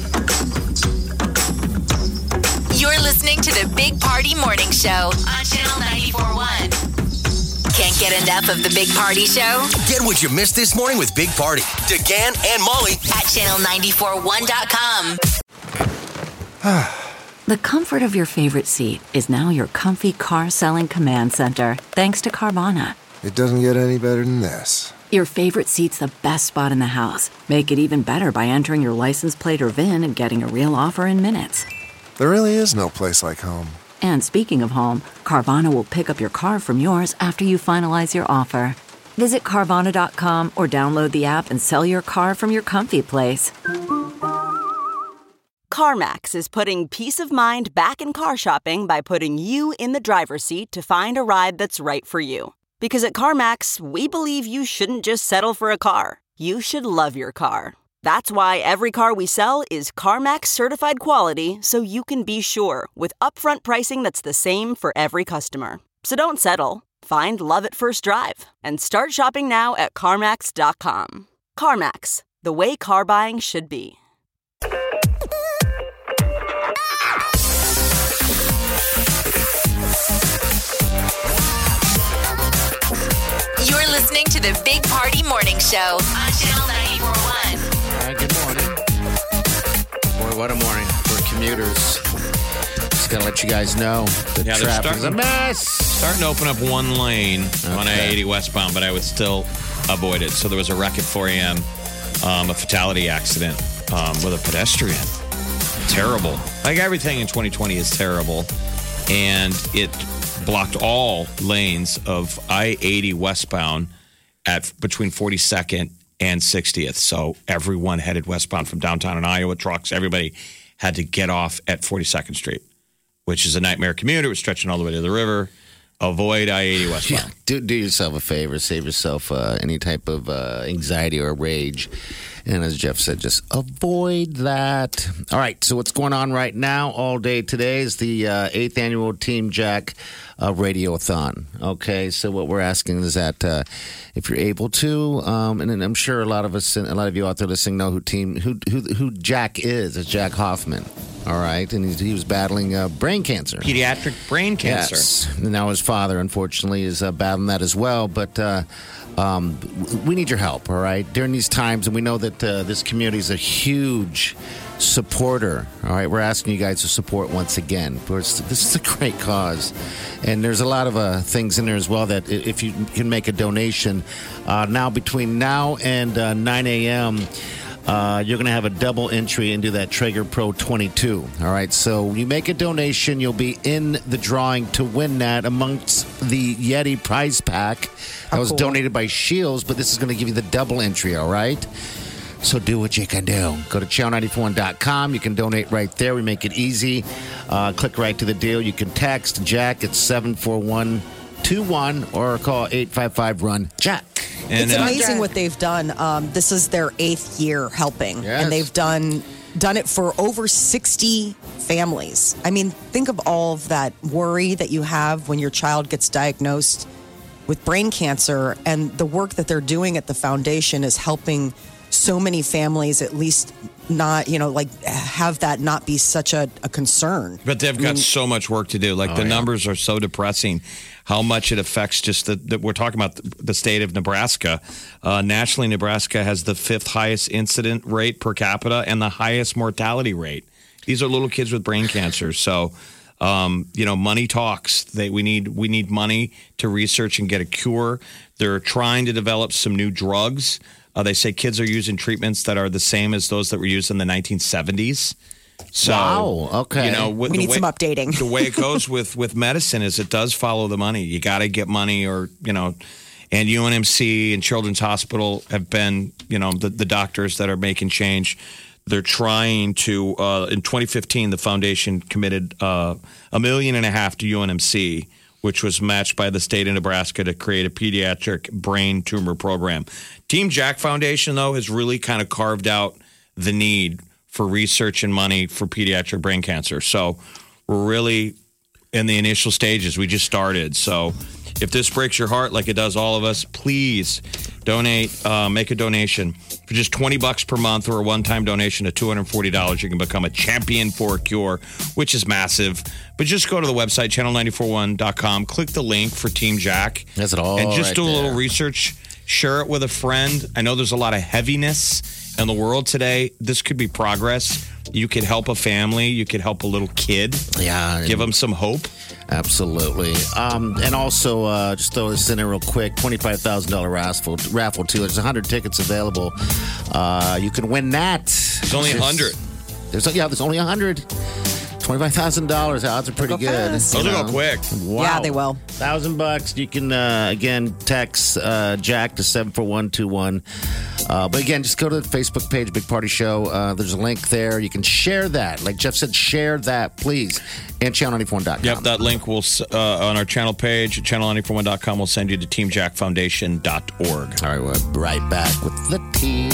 You're listening to the Big Party Morning Show on Channel ninety-four point one. Can't get enough of the Big Party Show? Get what you missed this morning with Big Party, DeGan and Molly At channel nine four one dot com. The comfort of your favorite seat is now your comfy car selling command center, thanks to Carvana. It doesn't get any better than this. Your favorite seat's the best spot in the house. Make it even better by entering your license plate or V I N and getting a real offer in minutes. There really is no place like home. And speaking of home, Carvana will pick up your car from yours after you finalize your offer. Visit Carvana dot com or download the app and sell your car from your comfy place. CarMax is putting peace of mind back in car shopping by putting you in the driver's seat to find a ride that's right for you. Because at CarMax, we believe you shouldn't just settle for a car. You should love your car. That's why every car we sell is CarMax certified quality, so you can be sure with upfront pricing that's the same for every customer. So don't settle. Find love at first drive and start shopping now at CarMax dot com. CarMax, the way car buying should be. You're listening to the Big Party Morning Show on Channel ninety-four point one. All right, good morning. Boy, what a morning for commuters. Just got to let you guys know the Yeah, they're traffic is a starting- mess. Starting to open up one lane on Okay. I eighty westbound, but I would still avoid it. So there was a wreck at four a.m., um, a fatality accident um, with a pedestrian. Terrible. Like everything in twenty twenty is terrible. And it blocked all lanes of I eighty westbound at between forty-second and sixtieth. So everyone headed westbound from downtown in Iowa, trucks, everybody had to get off at forty-second Street, which is a nightmare commute. It was stretching all the way to the river. Avoid I eighty westbound. Yeah, do, do yourself a favor. Save yourself uh, any type of uh, anxiety or rage. And as Jeff said, just avoid that. All right, so what's going on right now all day today is the uh, eighth annual Team Jack uh, Radiothon. Okay, so what we're asking is that uh, if you're able to, um, and, and I'm sure a lot of us, a lot of you out there listening know who Team who who, who Jack is. It's Jack Hoffman. All right, and he, he was battling uh, brain cancer. Pediatric brain cancer. Yes. And now his father, unfortunately, is uh, battling that as well. But uh, um, we need your help, all right, during these times. And we know that uh, this community is a huge supporter. All right, we're asking you guys to support once again. This is a great cause. And there's a lot of uh, things in there as well that if you can make a donation, uh, now between now and uh, nine a.m., Uh, you're going to have a double entry into that Traeger Pro twenty-two. All right, so when you make a donation, you'll be in the drawing to win that amongst the Yeti prize pack that was cool. donated by Shields, but this is going to give you the double entry, all right? So do what you can do. Go to channel nine four one dot com. You can donate right there. We make it easy. Uh, click right to the deal. You can text Jack at seven four one two one or call eight five five run Jack. And, It's uh, amazing what they've done. Um, this is their eighth year helping, Yes. and they've done done it for over sixty families. I mean, think of all of that worry that you have when your child gets diagnosed with brain cancer, and the work that they're doing at the foundation is helping so many families at least not, you know, like have that not be such a, a concern. But they've got so much work to do. Like the yeah. numbers are so depressing. How much it affects just the, the we're talking about the, the state of Nebraska. Uh, nationally, Nebraska has the fifth highest incident rate per capita and the highest mortality rate. These are little kids with brain cancer. So, um, you know, money talks. They, we need we need money to research and get a cure. They're trying to develop some new drugs. Uh, they say kids are using treatments that are the same as those that were used in the nineteen seventies. So, Wow, okay. You know, with We the need way, some updating. The way it goes with, with medicine is it does follow the money. You got to get money or, you know, and U N M C and Children's Hospital have been, you know, the, the doctors that are making change. They're trying to, uh, in twenty fifteen, the foundation committed uh, a million and a half to U N M C, which was matched by the state of Nebraska to create a pediatric brain tumor program. Team Jack Foundation, though, has really kind of carved out the need for research and money for pediatric brain cancer. So we're really in the initial stages. We just started. So if this breaks your heart like it does all of us, please donate, uh, make a donation. For just twenty bucks per month or a one-time donation of two hundred forty dollars, you can become a champion for a cure, which is massive. But just go to the website, channel nine four one dot com, click the link for Team Jack. That's it all And just right do a little there. research, share it with a friend. I know there's a lot of heaviness in the world today. This could be progress. You could help a family. You could help a little kid. Yeah. Give them some hope. Absolutely. Um, and also, uh, just throw this in there real quick, twenty-five thousand dollars raffle, raffle too. There's one hundred tickets available. Uh, you can win that. There's only one hundred. There's, yeah, there's only one hundred. twenty-five thousand dollars. Odds are pretty Go good. fast. Those you will know. go quick. Wow. Yeah, they will. Thousand bucks. You can, uh, again, text uh, Jack to seven four one two one. Uh, but again, just go to the Facebook page, Big Party Show. Uh, there's a link there. You can share that. Like Jeff said, share that, please. And channel ninety-four one dot com. Yep, that link will uh, on our channel page, channel nine four one dot com, will send you to team jack foundation dot org. All right, we're right back with the tea.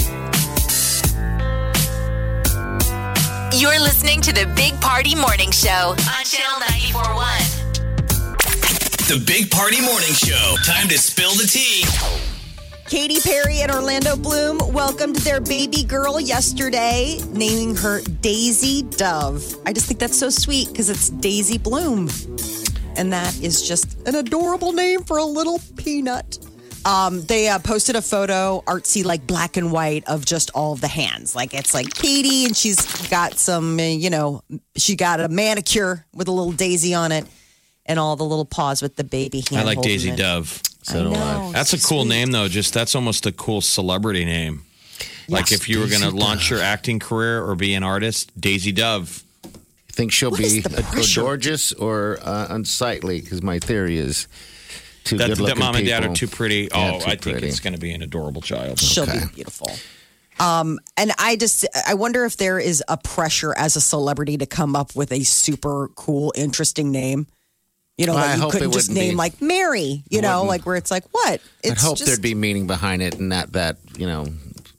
You're listening to the Big Party Morning Show on Channel ninety-four point one. The Big Party Morning Show. Time to spill the tea. Katy Perry and Orlando Bloom welcomed their baby girl yesterday, naming her Daisy Dove. I just think that's so sweet because it's Daisy Bloom. And that is just an adorable name for a little peanut. Um, they uh, posted a photo, artsy, like black and white, of just all of the hands. Like it's like Katie, and she's got some, uh, you know, she got a manicure with a little daisy on it, and all the little paws with the baby hand. I like holding Daisy it. Dove. So do I. That's a cool name, though. Just that's almost a cool celebrity name. Like if you were going to launch your acting career or be an artist, Daisy Dove. You think she'll What be is the uh, pressure? gorgeous or uh, unsightly? Because my theory is two That, good-looking that mom and dad people. are too pretty. Yeah, Oh, too I think pretty. it's going to be an adorable child. She'll Okay. be beautiful. Um, and I just, I wonder if there is a pressure as a celebrity to come up with a super cool, interesting name. You know, Well, that I you hope couldn't it just wouldn't name be. like Mary, you know, wouldn't. like where it's like, what? I'd It's hope just, there'd be meaning behind it, and not that you know,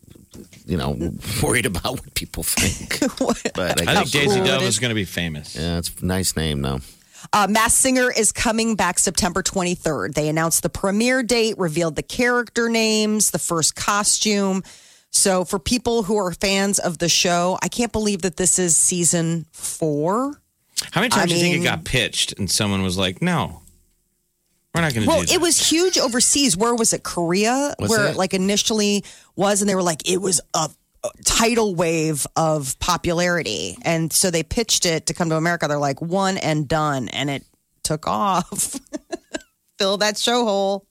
you know, worried about what people think. But I I, think guess, Daisy cool it Dove is. is going to be famous. yeah, it's a nice name though. Uh, Masked Singer is coming back September twenty-third. They announced the premiere date, revealed the character names, the first costume. So for people who are fans of the show, I can't believe that this is season four. How many times I do you think it mean- got pitched and someone was like, no, we're not going to Well, do that? it was huge overseas. Where was it? Korea, Was where it? it like initially was, and they were like, it was a, a tidal wave of popularity, and so they pitched it to come to America. They're like one and done, and it took off. Fill that show hole.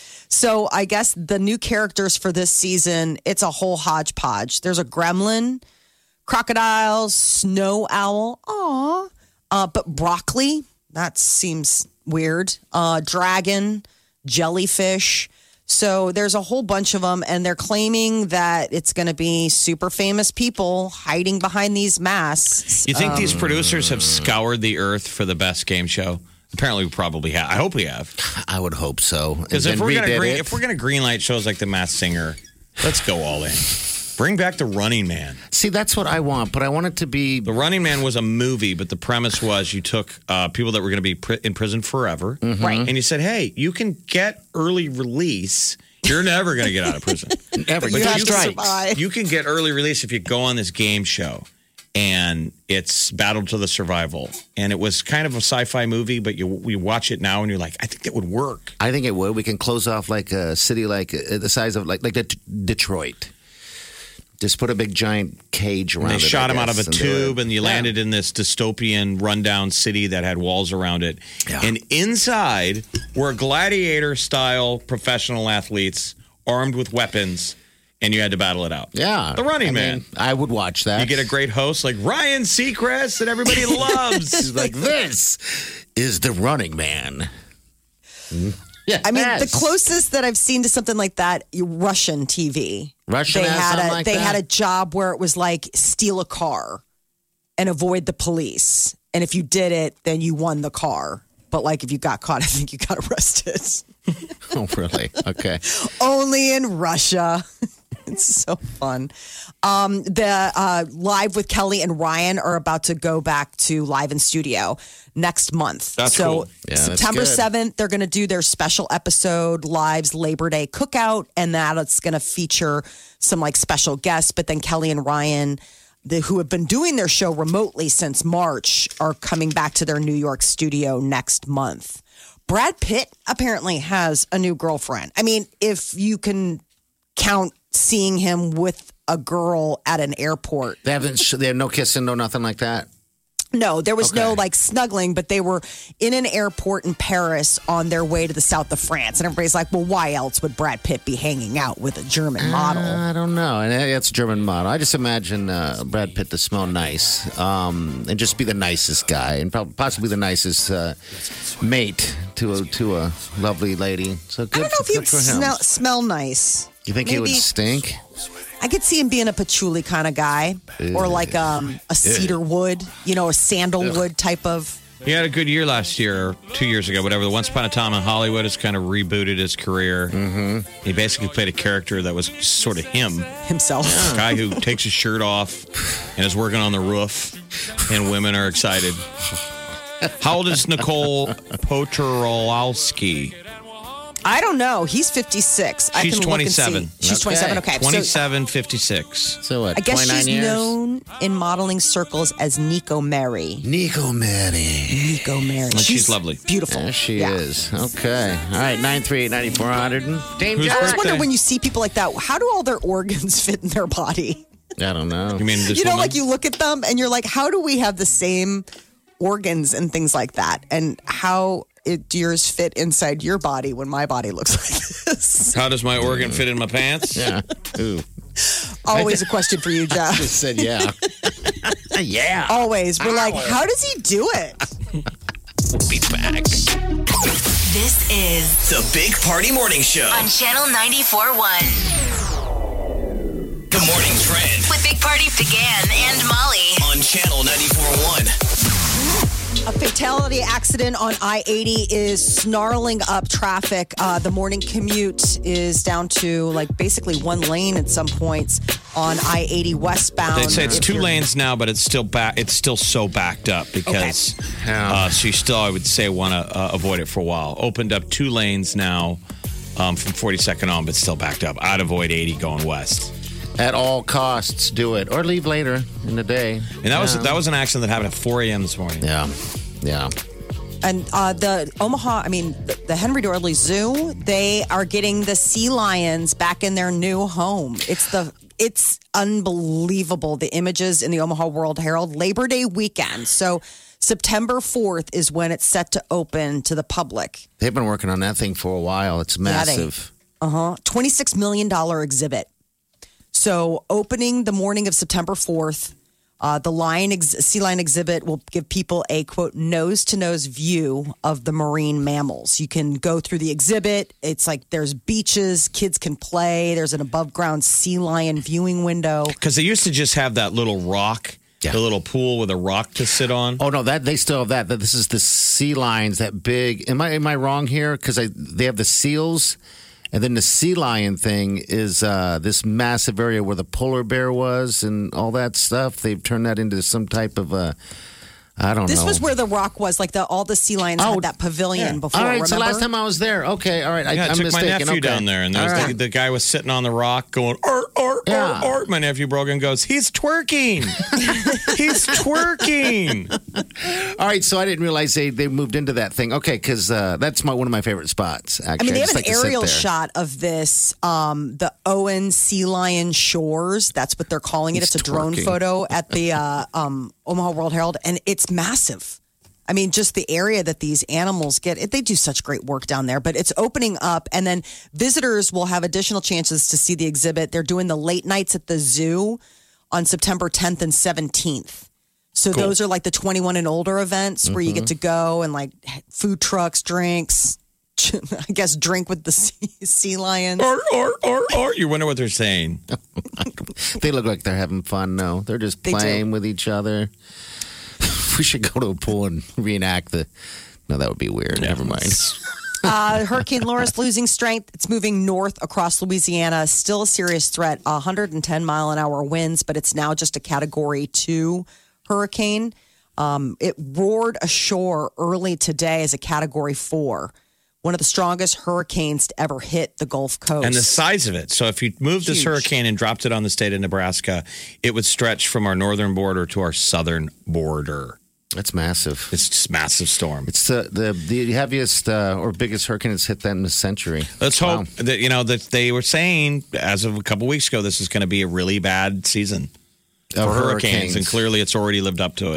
So I guess the new characters for this season, it's a whole hodgepodge. There's a gremlin, crocodile, snow owl, aw, uh, but broccoli. That seems weird. Uh, dragon, jellyfish. So there's a whole bunch of them, and they're claiming that it's going to be super famous people hiding behind these masks. You think Um, these producers have scoured the earth for the best game show? Apparently, we probably have. I hope we have. I would hope so. Because And if then we're gonna redid green, it. if we're gonna greenlight shows like The Masked Singer, let's go all in. Bring back The Running Man. see, that's what I want, but I want it to be. The Running Man was a movie, but the premise was you took uh, people that were going to be pri- in prison forever, Right. and you said, "Hey, you can get early release. You're never going to get out of prison. Never. you But have you to strike. survive. You can get early release if you go on this game show." And it's Battle to the Survival, and it was kind of a sci-fi movie, but you you watch it now and you're like, I think that would work. I think it would. We can close off like a city like uh, the size of like like the Detroit. Just put a big giant cage around And it. they shot I him out of a guess, and do tube, it. and you Yeah. landed in this dystopian, rundown city that had walls around it. Yeah. And inside were gladiator-style professional athletes armed with weapons, and you had to battle it out. Yeah, The Running I Man. mean, I would watch that. You get a great host like Ryan Seacrest that everybody loves. He's like, this is the Running Man. Yeah, I mean, the closest that I've seen to something like that, Russian T V. Russian they has had something a like they that? had a job where it was like steal a car and avoid the police, and if you did it, then you won the car. But like if you got caught, I think you got arrested. Oh, really? Okay. Only in Russia. It's so fun. Um, the uh, Live with Kelly and Ryan are about to go back to live in studio next month. That's so cool. Yeah, that's September good. seventh, they're going to do their special episode, Live's Labor Day Cookout, and that it's going to feature some like special guests. But then Kelly and Ryan, the, who have been doing their show remotely since March, are coming back to their New York studio next month. Brad Pitt apparently has a new girlfriend. I mean, if you can count seeing him with a girl at an airport. They haven't. They have no kissing, no nothing like that. No, there was no Okay. like snuggling, but they were in an airport in Paris on their way to the south of France. And everybody's like, well, why else would Brad Pitt be hanging out with a German model? I don't know. And it's a German model. I just imagine uh, Brad Pitt to smell nice um, and just be the nicest guy and prob- possibly the nicest uh, mate to a, to a lovely lady. So good, I don't know if good he'd for him. smell, smell nice. You think he would Maybe- stink? I could see him being a patchouli kind of guy or like um, a cedar wood, you know, a sandalwood type of. He had a good year last year, or two years ago, whatever. The Once Upon a Time in Hollywood has kind of rebooted his career. Mm-hmm. He basically played a character that was sort of him. Himself. A guy who takes his shirt off and is working on the roof, and women are excited. How old is Nicole Poturalski? I don't know. He's fifty-six. I She's can look and see. twenty-seven. She's Okay. twenty-seven. Okay. So twenty-seven, fifty-six. So what, I guess twenty-nine she's years? known in modeling circles as Nico Mary. Nico Mary. Nico Mary. And she's lovely. Beautiful. There she Yeah. is. Okay. All right, nine three eight, nine four hundred. Dame Who's I always Jack. wonder birthday? when you see people like that, how do all their organs fit in their body? I don't know. You mean this you know, woman? like you look at them and you're like, how do we have the same organs and things like that? And how it, do yours fit inside your body when my body looks like this? How does my organ fit in my pants? Yeah. Ooh. Always a question for you, Jeff. Just said yeah. yeah. Always. We're like, how does he do it? We'll be back. This is The Big Party Morning Show. on Channel ninety-four point one The Morning Trend with Big Party began and Molly. on Channel ninety-four point one. A fatality accident on I eighty is snarling up traffic. Uh, the morning commute is down to like basically one lane at some points on I eighty westbound. They say it's If two you're- lanes now, but it's still back. It's still so backed up because Yeah. uh, so you still, I would say, want to uh, avoid it for a while. Opened up two lanes now um, from forty-second on, but still backed up. I'd avoid eighty going west. At all costs, do it or leave later in the day. And that was Yeah. that was an accident that happened at four a.m. this morning. Yeah. Yeah. And uh, the Omaha, I mean, the, the Henry Dorley Zoo, they are getting the sea lions back in their new home. It's the it's unbelievable. The images in the Omaha World Herald, Labor Day weekend. So September fourth is when it's set to open to the public. They've been working on that thing for a while. It's Yeah, they- massive. Uh huh. twenty-six million dollars exhibit. So opening the morning of September fourth, uh, the lion ex- sea lion exhibit will give people a quote nose to nose view of the marine mammals. You can go through the exhibit. It's like there's beaches, kids can play. There's an above ground sea lion viewing window. Because they used to just have that little rock, Yeah. the little pool with a rock to sit on. Oh no, that they still have that. That this is the sea lions, that big. Am I am I wrong here? Because I they have the seals, and then the sea lion thing is uh, this massive area where the polar bear was and all that stuff. They've turned that into some type of uh, I don't This know. was where the rock was. Like the all the sea lions Oh, had that pavilion yeah. before. All right, remember? so last time I was there. Okay, all right. I, Yeah, I I'm took mistaken. my nephew okay. down there, and there was All the, right. the guy was sitting on the rock going, art, art, Yeah. art, art. My nephew Brogan goes, he's twerking. He's twerking. All right, so I didn't realize they, they moved into that thing. Okay, because uh, that's my one of my favorite spots. Actually, I mean, they just have an like to sit aerial there. shot of this, um, the Owen Sea Lion Shores. That's what they're calling it. He's It's a drone twerking. photo at the uh, um, Omaha World Herald, and it's massive. I mean, just the area that these animals get, it, they do such great work down there. But it's opening up, and then visitors will have additional chances to see the exhibit. They're doing the late nights at the zoo on September tenth and seventeenth. So Cool. those are like the twenty-one and older events where you get to go and like food trucks, drinks. I guess drink with the sea, sea lions. Art, art, art, art. You wonder what they're saying. They look like they're having fun. No, they're just They do. playing with each other. We should go to a pool and reenact the. No, that would be weird. Never mind. Uh, Hurricane Laura's losing strength. It's moving north across Louisiana. Still a serious threat. one hundred ten mile an hour winds, but it's now just a Category two hurricane. Um, it roared ashore early today as a Category four. One of the strongest hurricanes to ever hit the Gulf Coast. And the size of it. So if you moved this Huge. hurricane and dropped it on the state of Nebraska, it would stretch from our northern border to our southern border. That's massive. It's just a massive storm. It's the the, the heaviest uh, or biggest hurricane that's hit that in a century. Let's Wow. hope that, you know, that they were saying as of a couple weeks ago, this is going to be a really bad season for Of hurricanes. And clearly it's already lived up to it.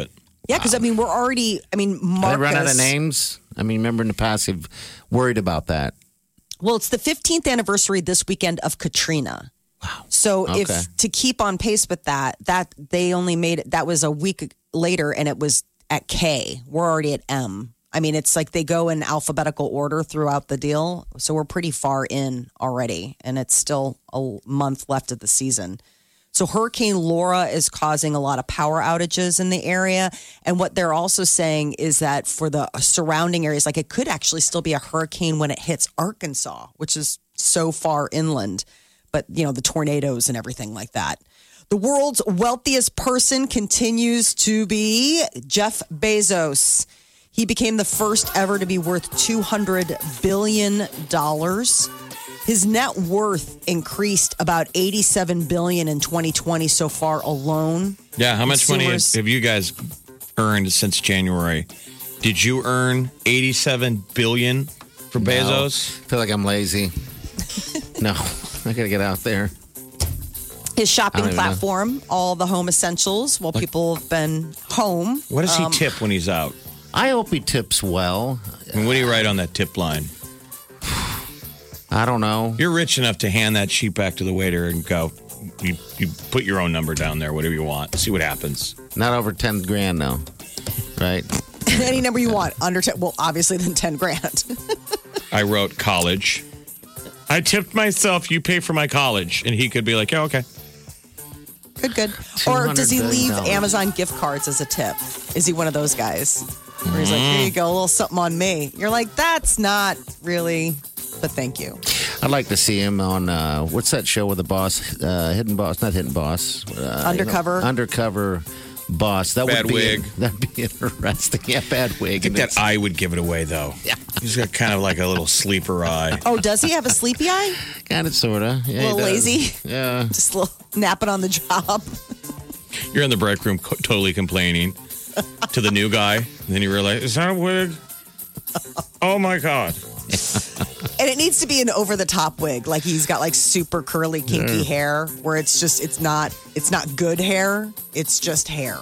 Yeah, because I mean, we're already. I mean, They Marcus. run out of names. I mean, remember in the past, they've worried about that. Well, it's the fifteenth anniversary this weekend of Katrina. Wow. So Okay. if to keep on pace with that, that they only made it. That was a week later, and it was at K. We're already at M. I mean, it's like they go in alphabetical order throughout the deal. So we're pretty far in already, and it's still a month left of the season. So Hurricane Laura is causing a lot of power outages in the area. And what they're also saying is that for the surrounding areas, like it could actually still be a hurricane when it hits Arkansas, which is so far inland. But, you know, the tornadoes and everything like that. The world's wealthiest person continues to be Jeff Bezos. He became the first ever to be worth two hundred billion dollars. His net worth increased about eighty-seven billion dollars in twenty twenty so far alone. Yeah, how much money Consumers- have you guys earned since January? Did you earn eighty-seven billion dollars for Bezos? I feel like I'm lazy. No, I got to get out there. His I shopping don't even know. platform, all the home essentials, while people have been home. What does he Um, tip when he's out? I hope he tips well. And what do you write on that tip line? I don't know. You're rich enough to hand that sheet back to the waiter and go, you, you put your own number down there, whatever you want. See what happens. Not over ten grand, though. Right? Any number you want under ten. Well, obviously, then ten grand. I wrote college. I tipped myself. You pay for my college. And he could be like, yeah, okay. Good, good. Or does he $two hundred billion leave dollars. Amazon gift cards as a tip? Is he one of those guys? Where he's like, here you go, a little something on me. You're like, that's not really, but thank you. I'd like to see him on, uh, what's that show with the boss? Uh, Hidden Boss, not Hidden Boss. Uh, Undercover. You know, undercover Boss. That Bad would be wig. That'd be interesting. Yeah, bad wig. I think that eye would give it away, though. Yeah. He's got kind of like a little sleeper eye. Oh, does he have a sleepy eye? Kind of, sort of. Yeah, A little he does. lazy? Yeah. Just a little napping on the job. You're in the break room co- totally complaining to the new guy. And then you realize, is that a wig? Oh, my God. And it needs to be an over the top wig. Like he's got like super curly, kinky hair where it's just, it's not, it's not good hair. It's just hair.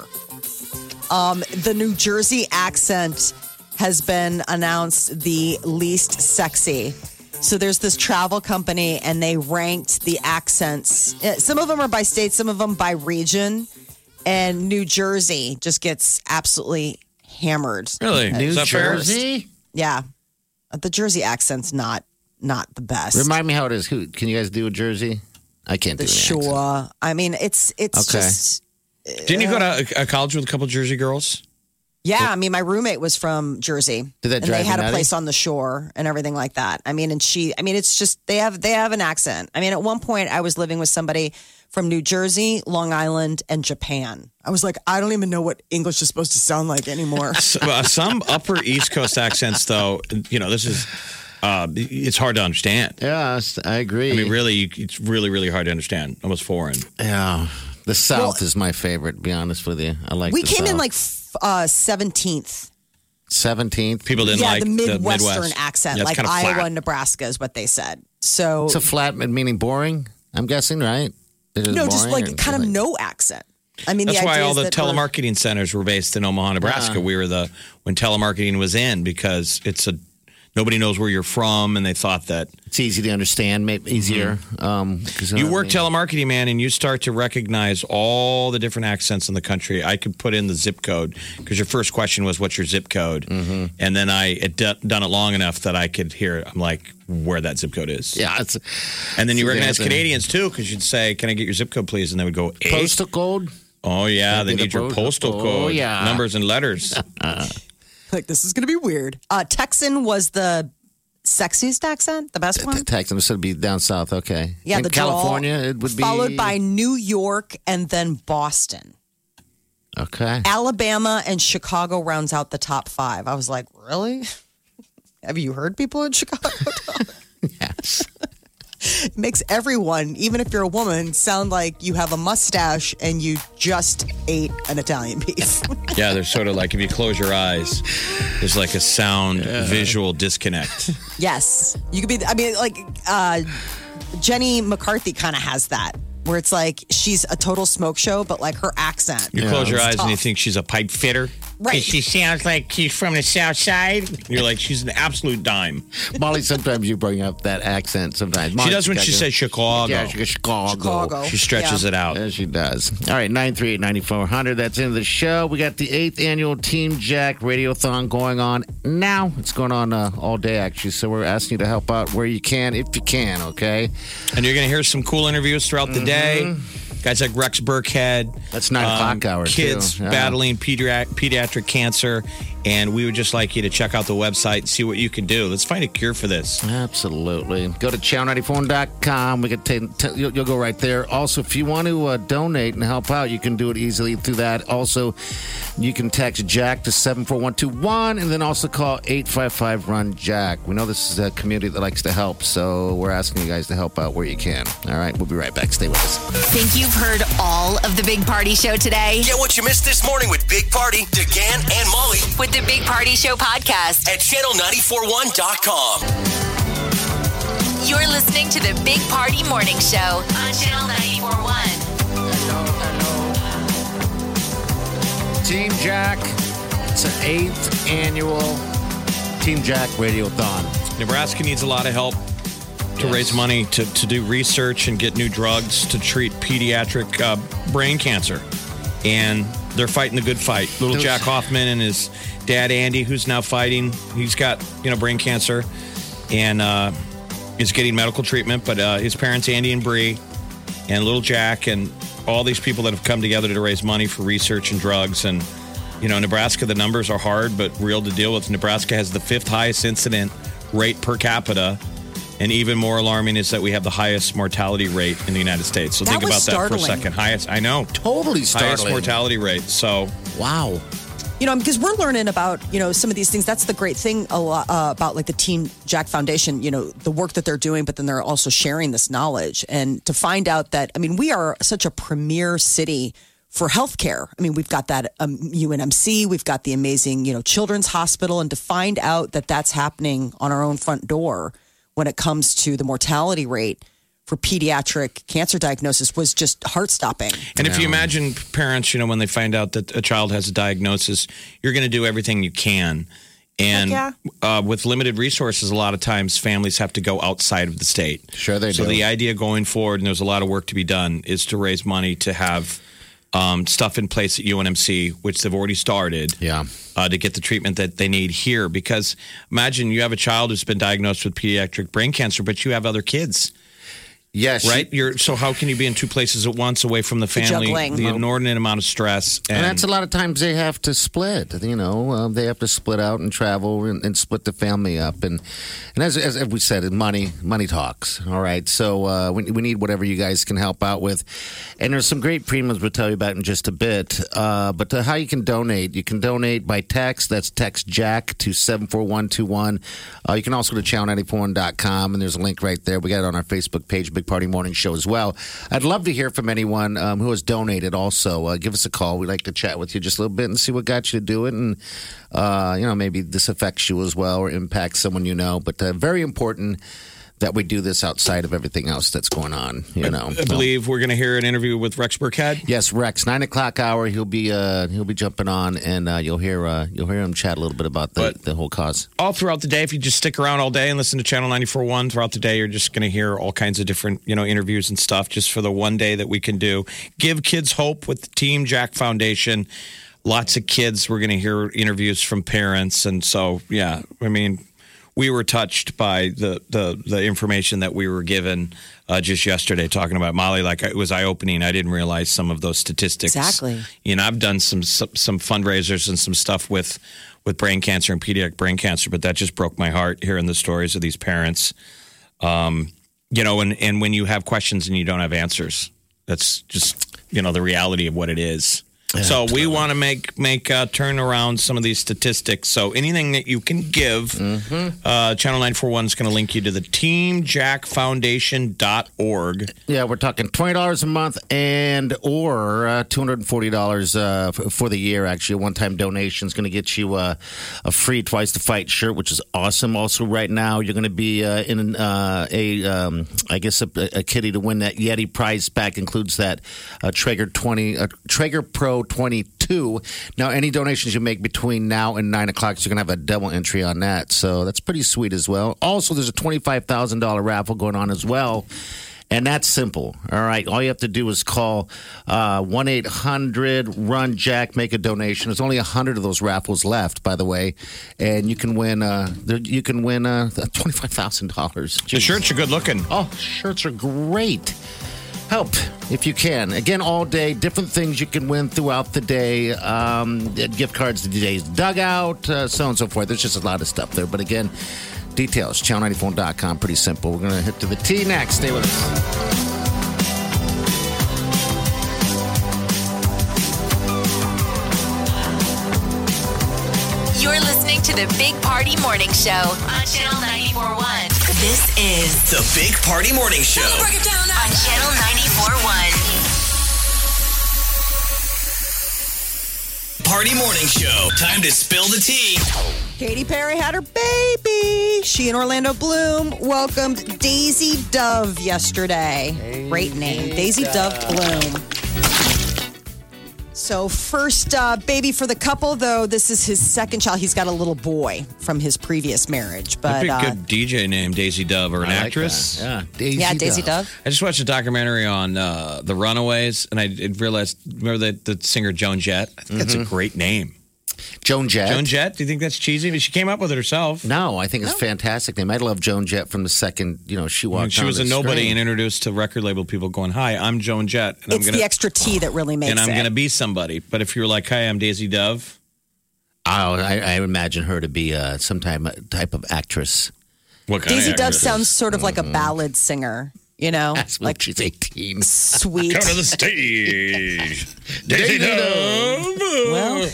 Um, the New Jersey accent has been announced the least sexy. So there's this travel company and they ranked the accents. Uh, Some of them are by state, some of them by region. And New Jersey just gets absolutely hammered. Really? New Is that fair? Jersey? Yeah. The Jersey accent's not not the best. Remind me how it is. Who, can you guys do a Jersey? I can't the do an accent. shore. I mean, it's it's Okay. just Didn't you go to a, a college with a couple Jersey girls? yeah. I mean, my roommate was from Jersey, Did that and drive they you had a nutty? place on the shore and everything like that. I mean, and she. I mean, it's just they have they have an accent. I mean, at one point, I was living with somebody from New Jersey, Long Island, and Japan. I was like, I don't even know what English is supposed to sound like anymore. So, uh, some Upper East Coast accents, though, you know, this is, uh, it's hard to understand. Yeah, I agree. I mean, really, you- it's really, really hard to understand. Almost foreign. Yeah. The South Well- is my favorite, to be honest with you. I like we the came in South. like f- uh, seventeenth. seventeenth. People didn't Yeah, like the Midwestern Midwest. accent, Yeah, it's like kinda Iowa flat. and Nebraska is what they said. So It's a flat, meaning boring, I'm guessing, right? It is no, just boring like or kind of like- no accent. I mean, That's the why idea all is the that we're- telemarketing centers were based in Omaha, Nebraska. We were the when telemarketing was in because it's a nobody knows where you're from, and they thought that It's easy to understand, maybe easier. Um, 'cause, you uh, work I mean, telemarketing, man, and you start to recognize all the different accents in the country. I could put in the zip code because your first question was, "What's your zip code?" Mm-hmm. And then I had d- done it long enough that I could hear. I'm like, where that zip code is. Yeah, it's And then you See, recognize they have to- Canadians too, because you'd say, "Can I get your zip code, please?" And they would go, eh? postal code. "Oh yeah, That'd they be the need your postal- postal Oh, code, yeah. numbers and letters." like this is going to be weird. Uh, Texan was the sexiest accent, the best one. Texan, so it'd be down south. Okay. Yeah, In the drawl, California, it would be followed by New York and then Boston. Okay. Alabama and Chicago rounds out the top five. I was like, really? Have you heard people in Chicago talk? Yes. It makes everyone, even if you're a woman, sound like you have a mustache and you just ate an Italian beef. Yeah, they're sort of like if you close your eyes, there's like a sound visual disconnect. Yes. You could be, I mean, like, uh, Jenny McCarthy kind of has that, where it's like she's a total smoke show, but like her accent. You close your It's eyes and you tough. think she's a pipe fitter. Right. She sounds like she's from the South Side. And you're like, she's an absolute dime. Molly, sometimes you bring up that accent sometimes. Molly, She does when she Chicago. says Chicago. Yeah, she goes Chicago. Chicago. She stretches Yeah. it out. Yeah, she does. All right, nine three eight, nine four zero zero. That's into the show. We got the eighth annual Team Jack Radiothon going on now. It's going on uh, all day, actually. So we're asking you to help out where you can, if you can, okay? And you're going to hear some cool interviews throughout the day. Mm-hmm. Guys like Rex Burkhead. That's nine o'clock hour, Kids too. Yeah. battling pediatric, pediatric cancer. And we would just like you to check out the website and see what you can do. Let's find a cure for this. Absolutely. Go to channel ninety-four dot com. We can take, t- you'll, you'll go right there. Also, if you want to uh, donate and help out, you can do it easily through that. Also, you can text Jack to seven four one two one and then also call eight five five, run Jack. We know this is a community that likes to help, so we're asking you guys to help out where you can. All right, we'll be right back. Stay with us. Think you've heard all of the Big Party Show today? Get what you missed this morning with Big Party, DeGan, and Molly With the Big Party Show podcast. at channel nine four one dot com. You're listening to the Big Party Morning Show on Channel ninety-four point one. Team Jack. It's an eighth annual Team Jack Radiothon. Nebraska needs a lot of help to Yes. raise money to, to do research and get new drugs to treat pediatric uh, brain cancer. And they're fighting the good fight. Little Those- Jack Hoffman and his dad, Andy, who's now fighting. He's got, you know, brain cancer and uh, is getting medical treatment. But uh, his parents, Andy and Bree, and little Jack, and all these people that have come together to raise money for research and drugs. And, you know, Nebraska, the numbers are hard but real to deal with. Nebraska has the fifth highest incident rate per capita. And even more alarming is that we have the highest mortality rate in the United States. So That think about was that for a startling. second. Highest, I know. Totally Highest startling. mortality rate. So Wow. You know, because we're learning about, you know, some of these things. That's the great thing a lot, uh, about like the Team Jack Foundation, you know, the work that they're doing, but then they're also sharing this knowledge. And to find out that, I mean, we are such a premier city for healthcare. I mean, we've got that um, U N M C, we've got the amazing, you know, Children's Hospital. And to find out that that's happening on our own front door when it comes to the mortality rate for pediatric cancer diagnosis was just heart-stopping. And if you imagine parents, you know, when they find out that a child has a diagnosis, you're going to do everything you can. And Heck uh, with limited resources, a lot of times families have to go outside of the state. Sure they so do. the idea going forward, and there's a lot of work to be done, is to raise money to have um, stuff in place at U N M C, which they've already started. Yeah. Uh, to get the treatment that they need here. Because imagine you have a child who's been diagnosed with pediatric brain cancer, but you have other kids. Yes. Right? You're so how can you be in two places at once away from the family? juggling. The inordinate amount of stress. And, And that's a lot of times they have to split. You know, uh, they have to split out and travel and, and split the family up. And and as, as we said, money money talks. All right, so uh, we we need whatever you guys can help out with. And there's some great premiums we'll tell you about in just a bit. Uh, but uh, how you can donate? You can donate by text. That's text Jack to seven four one two one. Uh, you can also go to channel ninety-four one dot com and there's a link right there. We got it on our Facebook page, Big Party Morning Show as well. I'd love to hear from anyone um, who has donated also. Uh, give us a call. We'd like to chat with you just a little bit and see what got you to do it. And, uh, you know, maybe this affects you as well or impacts someone you know. But uh, very important that we do this outside of everything else that's going on, you know. I believe we're going to hear an interview with Rex Burkhead. Yes, Rex, nine o'clock hour. He'll be uh, he'll be jumping on, and uh, you'll hear uh, you'll hear him chat a little bit about the, But- the whole cause. All throughout the day, if you just stick around all day and listen to Channel ninety-four point one throughout the day, you're just going to hear all kinds of different, you know, interviews and stuff just for the one day that we can do. Give kids hope with the Team Jack Foundation. Lots of kids. We're going to hear interviews from parents. And so, yeah, I mean, we were touched by the, the, the information that we were given uh, just yesterday talking about Molly. Like, it was eye-opening. I didn't realize some of those statistics. Exactly. You know, I've done some some, some fundraisers and some stuff with, with brain cancer and pediatric brain cancer, but that just broke my heart hearing the stories of these parents. Um, you know, and, and when you have questions and you don't have answers, that's just, you know, the reality of what it is. So we want to make make uh, turn around some of these statistics. So anything that you can give, uh, Channel nine four one is going to link you to the team jack foundation dot org. Yeah, we're talking twenty dollars a month and or uh, two hundred forty dollars uh, f- for the year, actually. A one-time donation is going to get you uh, a free Twice the Fight shirt, which is awesome. Also, right now, you're going to be uh, in uh, a, um, I guess, a, a kitty to win that Yeti prize pack. Includes that uh, Traeger twenty, uh, Traeger Pro oh twenty-two. Now, any donations you make between now and nine o'clock, you're going to have a double entry on that. So that's pretty sweet as well. Also, there's a twenty-five thousand dollars raffle going on as well. And that's simple. All right. All you have to do is call uh, one eight hundred run Jack, make a donation. There's only one hundred of those raffles left, by the way. And you can win uh, you can win uh, twenty-five thousand dollars. The shirts are good looking. Oh, shirts are great. Help if you can. Again, all day, different things you can win throughout the day. Um, gift cards to today's dugout, uh, so on and so forth. There's just a lot of stuff there. But again, details, channel ninety-four dot com. Pretty simple. We're going to hit to the T next. Stay with us. You're listening to the Big Party Morning Show on Channel ninety-four point one. This is The Big Party Morning Show. on Channel ninety-four point one. Party Morning Show. Time to spill the tea. Katy Perry had her baby. She and Orlando Bloom welcomed Daisy Dove yesterday. Great name, Daisy Dove Bloom. So first uh, baby for the couple, though, this is his second child. He's got a little boy from his previous marriage. But That'd be a uh, good D J name, Daisy Dove, or an I like actress. that. Yeah, Daisy yeah, Daisy Dove. I just watched a documentary on uh, the Runaways, and I did realized, remember the, the singer Joan Jett? I think that's a great name. Joan Jett. Joan Jett? Do you think that's cheesy? I mean, she came up with it herself. No, I think it's a fantastic name. I love Joan Jett from the second, you know, she I mean, walked she on was the a nobody screen. and introduced to record label people going, "Hi, I'm Joan Jett, and It's I'm gonna the extra T that really makes and I'm it. gonna be somebody." But if you were like, "Hi, I'm Daisy Dove," Oh, I, I imagine her to be uh, some type, type of actress. what kind Daisy of Dove actress? sounds sort of like a ballad singer, you know, That's when like she's eighteen. sweet. Come to the stage, Daisy Dove. Well,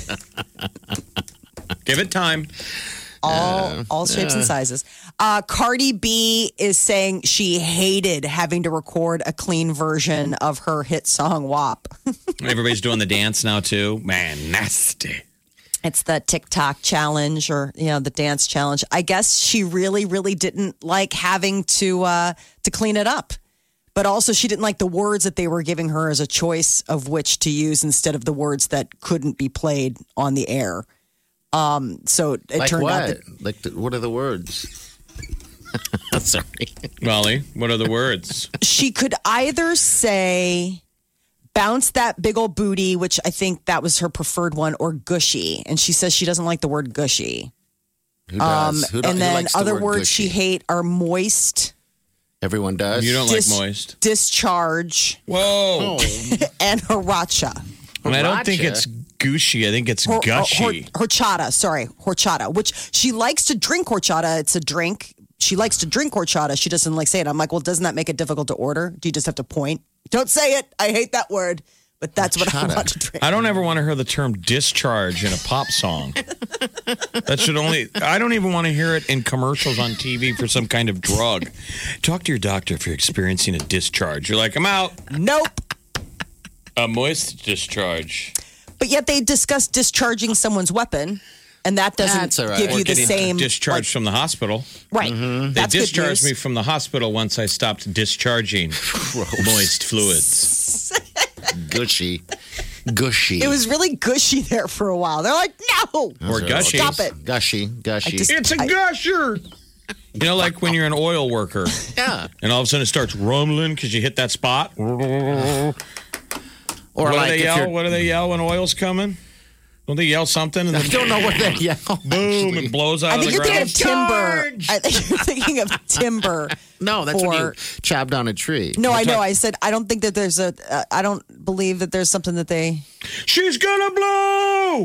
Give it time. all all shapes and sizes. Uh, Cardi B is saying she hated having to record a clean version of her hit song W A P. Everybody's doing the dance now too. Man, nasty. It's the TikTok challenge, or you know, the dance challenge. I guess she really, really didn't like having to uh, to clean it up, but also she didn't like the words that they were giving her as a choice of which to use instead of the words that couldn't be played on the air. Um, so it Like turned what? out that Like, the, what are the words? Sorry. Molly, what are the words? she could either say bounce that big old booty, which I think that was her preferred one, or gushy. And she says she doesn't like the word gushy. Who Um, does? Who do- and who then likes the other word words she gushy? hate are moist, Everyone does. You don't Dis- like moist. discharge, Whoa. and haracha. And I don't think Sriracha. it's gushy. I think it's Hor- gushy. hor- horchata, sorry, horchata, which she likes to drink horchata. It's a drink. She likes to drink horchata. She doesn't like say it. I'm like, well, doesn't that make it difficult to order? Do you just have to point? Don't say it. I hate that word. But that's what I Horchata. want to drink. I don't ever want to hear the term discharge in a pop song. That should only, I don't even want to hear it in commercials on T V for some kind of drug. Talk to your doctor if you're experiencing a discharge. You're like, I'm out. Nope. A moist discharge. But yet they discuss discharging someone's weapon, and that doesn't That's all right. give Or you the getting same discharged like- from the hospital. right. They That's good discharged news. me from the hospital once I stopped discharging moist fluids. Gushy. Gushy. It was really gushy there for a while. They're like, no, Or gushy. stop it. Gushy. Gushy. I just- It's a I- gusher. You know, like when you're an oil worker yeah. and all of a sudden it starts rumbling because you hit that spot. Or what do like they if yell? you're, What do they yell when oil's coming? Don't they yell something and I then don't know what they yell. boom, actually. it blows out I of think the you're thinking ground? of timber. I think you're thinking of timber. No, that's when you for- chop down a tree. No, I know. talk- I said I don't think that there's a. Uh, I don't believe that there's something that they. She's gonna blow.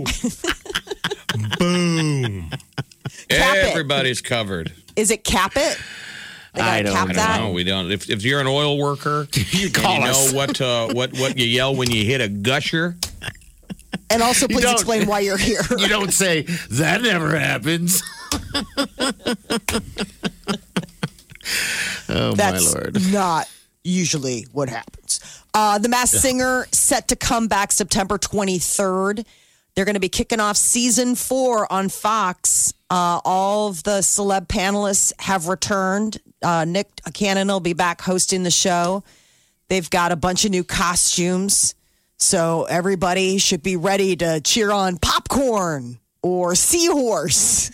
Boom. Cap it. Everybody's covered. Is it cap it? They gotta I don't- cap I don't that. No, we don't. If, if you're an oil worker, You and call you us. know what uh, what what you yell when you hit a gusher. And also, please don't. explain why you're here. You don't say, that never happens. Oh, That's my Lord. not usually what happens. Uh, the Masked Singer set to come back September twenty-third. They're going to be kicking off season four on Fox. Uh, all of the celeb panelists have returned. Uh, Nick Cannon will be back hosting the show. They've got a bunch of new costumes. So everybody should be ready to cheer on Popcorn or Seahorse.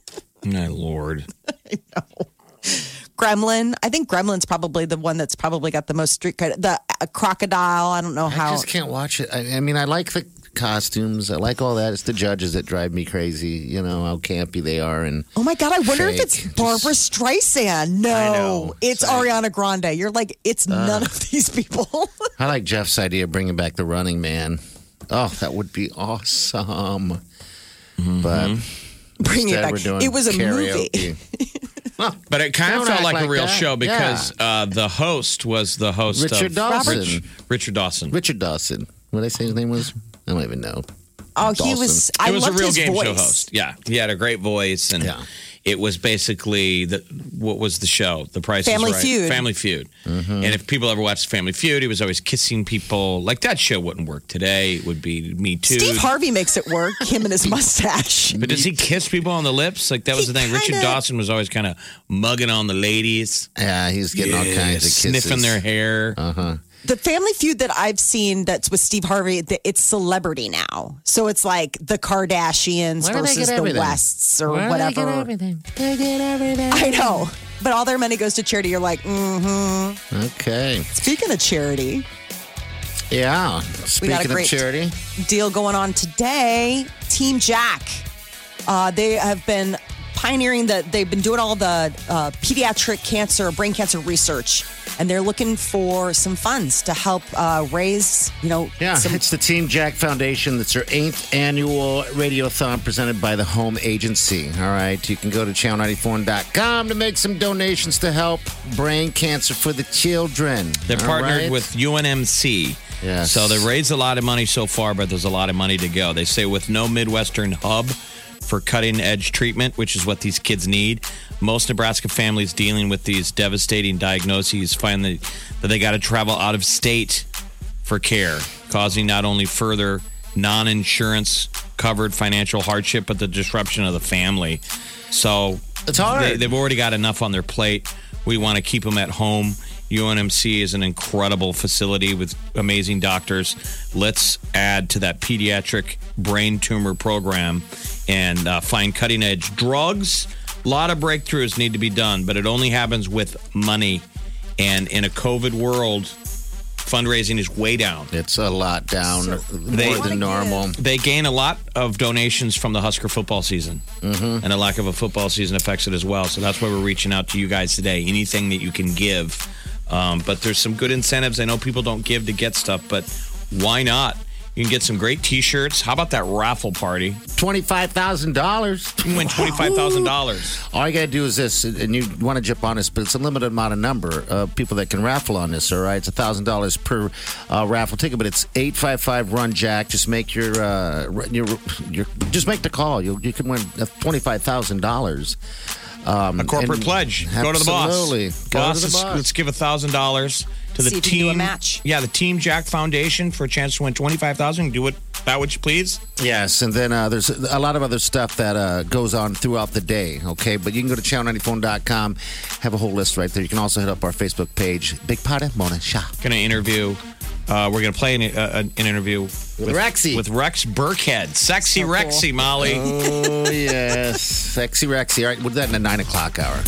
My Lord. I know. Gremlin. I think Gremlin's probably the one that's probably got the most street credit. The uh, crocodile. I don't know how. I just can't watch it. I, I mean, I like the costumes. I like all that. It's the judges that drive me crazy. You know how campy they are. And oh my God, I wonder fake. if it's Barbara Just, Streisand. No, I know. it's It's like- Ariana Grande. You're like, it's Uh. none of these people. I like Jeff's idea of bringing back the Running Man. Oh, that would be awesome. But Bring it instead back. we're doing It was a movie. karaoke. But it kind of Don't felt act like, a like real that. show because uh, the host was the host Richard of Dawson. Rich- Richard Dawson. Richard Dawson. What did I say his name was? I don't even know. Oh, he Dawson. was. I it was a loved real his game voice. show host. Yeah, he had a great voice, and Yeah. it was basically the what was the show? The Price Family is Right. Feud. Family Feud. And if people ever watched Family Feud, he was always kissing people. Like that show wouldn't work today. It would be Me Too. Steve Harvey makes it work. Him and his mustache. But does he kiss people on the lips? Like that was He the thing. Richard kinda- Dawson was always kind of mugging on the ladies, Yeah, he's getting all kinds of kisses. sniffing their hair. Uh-huh. The Family Feud that I've seen that's with Steve Harvey, th- it's celebrity now. So it's like the Kardashians Where do they versus get the everything? Wests or Where do they get whatever. everything? They get everything. I know. But all their money goes to charity. You're like, mm-hmm. Okay. Speaking of charity, Yeah. got a Speaking great- of charity. deal going on today. Team Jack. Uh, they have been pioneering that they've been doing all the uh, pediatric cancer, brain cancer research, and they're looking for some funds to help uh, raise, you know, Yeah, some it's the Team Jack Foundation. That's their eighth annual radiothon presented by the Home Agency. All right, you can go to channel ninety-four dot com to make some donations to help brain cancer for the children. They're All partnered right? with U N M C. Yes. So they raised a lot of money so far, but there's a lot of money to go. They say with no Midwestern hub for cutting edge treatment, which is what these kids need, most Nebraska families dealing with these devastating diagnoses find that, that they got to travel out of state for care, causing not only further non-insurance covered financial hardship, but the disruption of the family. So It's hard. They, they've already got enough on their plate. We want to keep them at home. U N M C is an incredible facility with amazing doctors. Let's add to that pediatric brain tumor program and uh, find cutting edge drugs. A lot of breakthroughs need to be done, but it only happens with money. And in a COVID world, fundraising is way down. It's a lot down, more They- than normal. They gain a lot of donations from the Husker football season. Mm-hmm. And a lack of a football season affects it as well. So that's why we're reaching out to you guys today. Anything that you can give. Um, but there's some good incentives. I know people don't give to get stuff, but why not? You can get some great T-shirts. How about that raffle party? twenty-five thousand dollars. You can win twenty-five thousand dollars. All you got to do is this, and you want to jump on this, but it's a limited amount of number of people that can raffle on this, all right? It's one thousand dollars per uh, raffle ticket, but it's eight five five run jack. Just make your, uh, your, your, just make the call. You you can win twenty-five thousand dollars. Um, A corporate and- pledge. Go to the boss. Absolutely. Go boss, to the let's- boss. Let's give one thousand dollars to the See if you team. can do a match. Yeah, the Team Jack Foundation for a chance to win twenty-five thousand dollars. Do it that which you please. Yes, and then uh, there's a lot of other stuff that uh, goes on throughout the day, okay? But you can go to channel ninety-four dot com, have a whole list right there. You can also hit up our Facebook page, Big Party Morning Show. Going to interview. Uh, we're going to play an, uh, an interview with, Rexy. with Rex Burkhead, sexy So cool. Rexy, Molly. Oh, yes. Sexy Rexy. All right, we'll do that in the nine o'clock hour.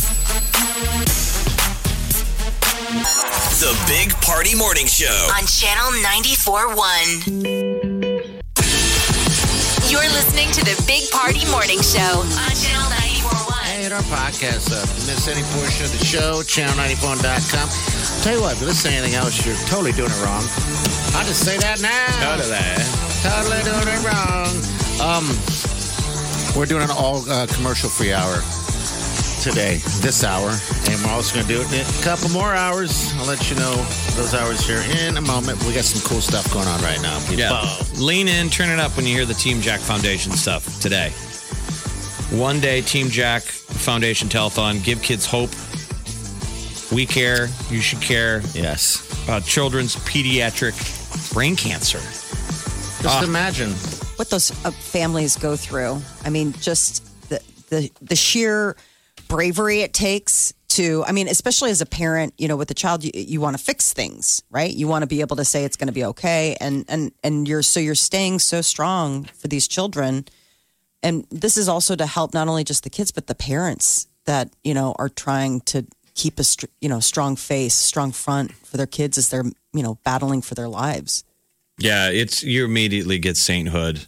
The Big Party Morning Show. On Channel ninety-four one. You're listening to the Big Party Morning Show on Channel ninety-four one. Hey, hit our podcast up. Miss any portion of the show, channel ninety-four dot com. Tell you what, if you listen to anything else, you're totally doing it wrong. I'll just say that now. Totally doing it wrong. Um, we're doing an all uh, commercial-free hour today, this hour, and we're also going to do it in a couple more hours. I'll let you know those hours here in a moment. We got some cool stuff going on right now, people. Yeah. Lean in, turn it up when you hear the Team Jack Foundation stuff today. One day, Team Jack Foundation Telethon. Give kids hope. We care. You should care. Yes. About children's pediatric brain cancer. Just Ah. imagine. what those uh, families go through. I mean, just the the the sheer bravery it takes to, I mean, especially as a parent, you know, with a child, you, you want to fix things, right? You want to be able to say it's going to be okay. And, and, and you're, so you're staying so strong for these children. And this is also to help not only just the kids, but the parents that, you know, are trying to keep a, str- you know, strong face, strong front for their kids as they're, you know, battling for their lives. Yeah, it's you immediately get sainthood.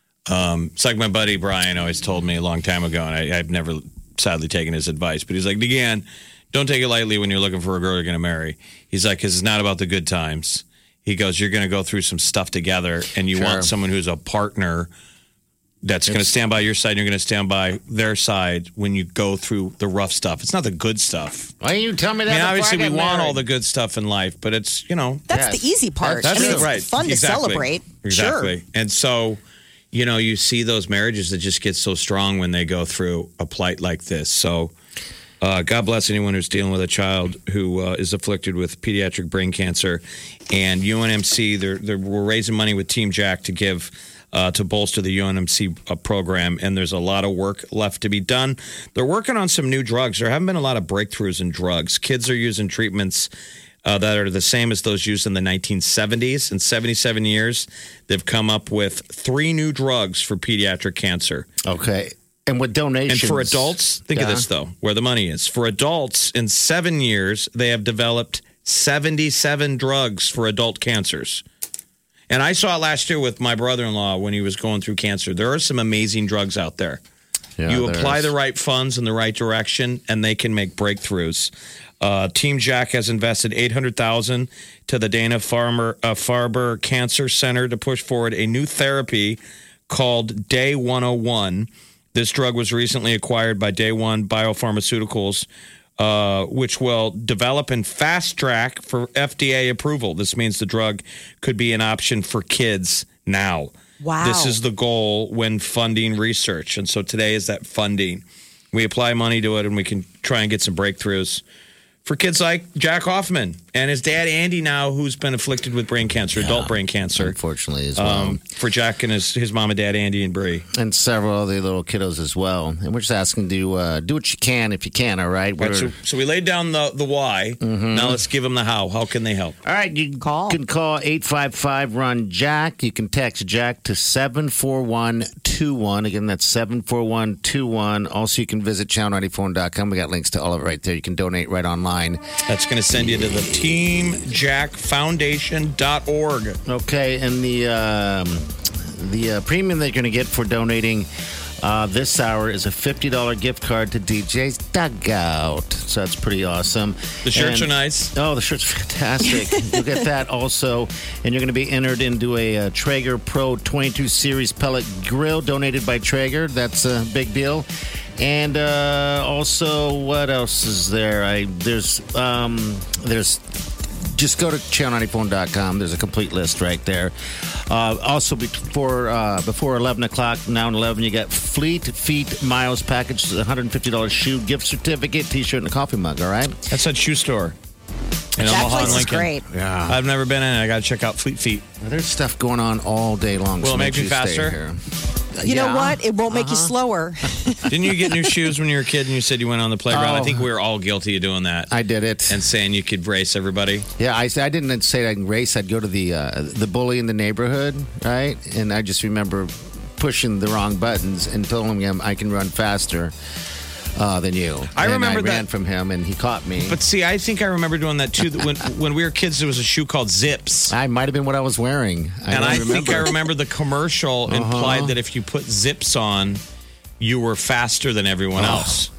Um, it's like my buddy Brian always told me a long time ago, and I, I've never sadly taken his advice, but he's like, DeGan, don't take it lightly when you're looking for a girl you're going to marry. He's like, because it's not about the good times. He goes, you're going to go through some stuff together, and you Sure. want someone who's a partner that's going to stand by your side, and you're going to stand by their side when you go through the rough stuff. It's not the good stuff. Why you tell me that? I mean, before obviously, I we got want married? all the good stuff in life, but it's, you know. That's Yes. the easy part. That's I mean, it, it's right. fun to Exactly. celebrate. Exactly. Sure. And so, you know, you see those marriages that just get so strong when they go through a plight like this. So, uh, God bless anyone who's dealing with a child who uh, is afflicted with pediatric brain cancer. And U N M C, they're, they're, we're raising money with Team Jack to give uh, to bolster the U N M C uh, program. And there's a lot of work left to be done. They're working on some new drugs. There haven't been a lot of breakthroughs in drugs. Kids are using treatments Uh, that are the same as those used in the nineteen seventies. In seventy-seven years, they've come up with three new drugs for pediatric cancer. Okay. And with donations. And for adults, think Yeah. of this, though, where the money is. For adults, in seven years, they have developed seventy-seven drugs for adult cancers. And I saw it last year with my brother-in-law when he was going through cancer. There are some amazing drugs out there. Yeah, you there apply is. the right funds in the right direction, and they can make breakthroughs. Uh, Team Jack has invested eight hundred thousand dollars to the Dana Farmer, uh, Farber Cancer Center to push forward a new therapy called Day one oh one. This drug was recently acquired by Day One Biopharmaceuticals, uh, which will develop and fast track for F D A approval. This means the drug could be an option for kids now. Wow. This is the goal when funding research. And so today is that funding. We apply money to it, and we can try and get some breakthroughs for kids like Jack Hoffman and his dad, Andy, now, who's been afflicted with brain cancer, adult brain cancer. Unfortunately, as well. Um, for Jack and his, his mom and dad, Andy and Bree. And several other little kiddos as well. And we're just asking to uh, do what you can if you can, all right? Right, so, so we laid down the, the why. Mm-hmm. Now let's give them the how. How can they help? All right, you Call. can call eight five five, run Jack. You can text Jack to seven four one two one. Again, that's seven four one two one. Also, you can visit channel ninety-four dot com. We got links to all of it right there. You can donate right online. That's going to send you to the team jack foundation dot org. Okay, and the um, the uh, premium that you're going to get for donating uh, this hour is a fifty dollars gift card to D J's Dugout. So that's pretty awesome. The shirts And- are nice. Oh, the shirt's fantastic. You'll get that also. And you're going to be entered into a, uh Traeger Pro twenty-two Series pellet grill donated by Traeger. That's a big deal. And uh, also, what else is there? I There's, um, there's just go to channel ninety-four dot com. There's a complete list right there. Uh, also, before uh, before eleven o'clock, now at eleven, you got Fleet Feet Miles package, one hundred fifty dollars shoe, gift certificate, T-shirt, and a coffee mug, all right? That's that shoe store in That Omaha place and is Lincoln. great. Yeah. I've never been in it. I got to check out Fleet Feet. There's stuff going on all day long. Will so it make sure me you stay faster? here. You Yeah. know what? It won't make you slower. Didn't you get new shoes when you were a kid and you said you went on the playground? I Oh. think we were all guilty of doing that. I did it. and saying you could race everybody. Yeah, I, I didn't say I'd race. I'd go to the uh, the bully in the neighborhood, right? And I just remember pushing the wrong buttons and telling him I can run faster uh, than you. I And remember I ran that- from him, and he caught me. But see, I think I remember doing that too. That when when we were kids, there was a shoe called Zips. I might have been what I was wearing. I and don't I remember. think I remember the commercial implied that if you put zips on, you were faster than everyone else.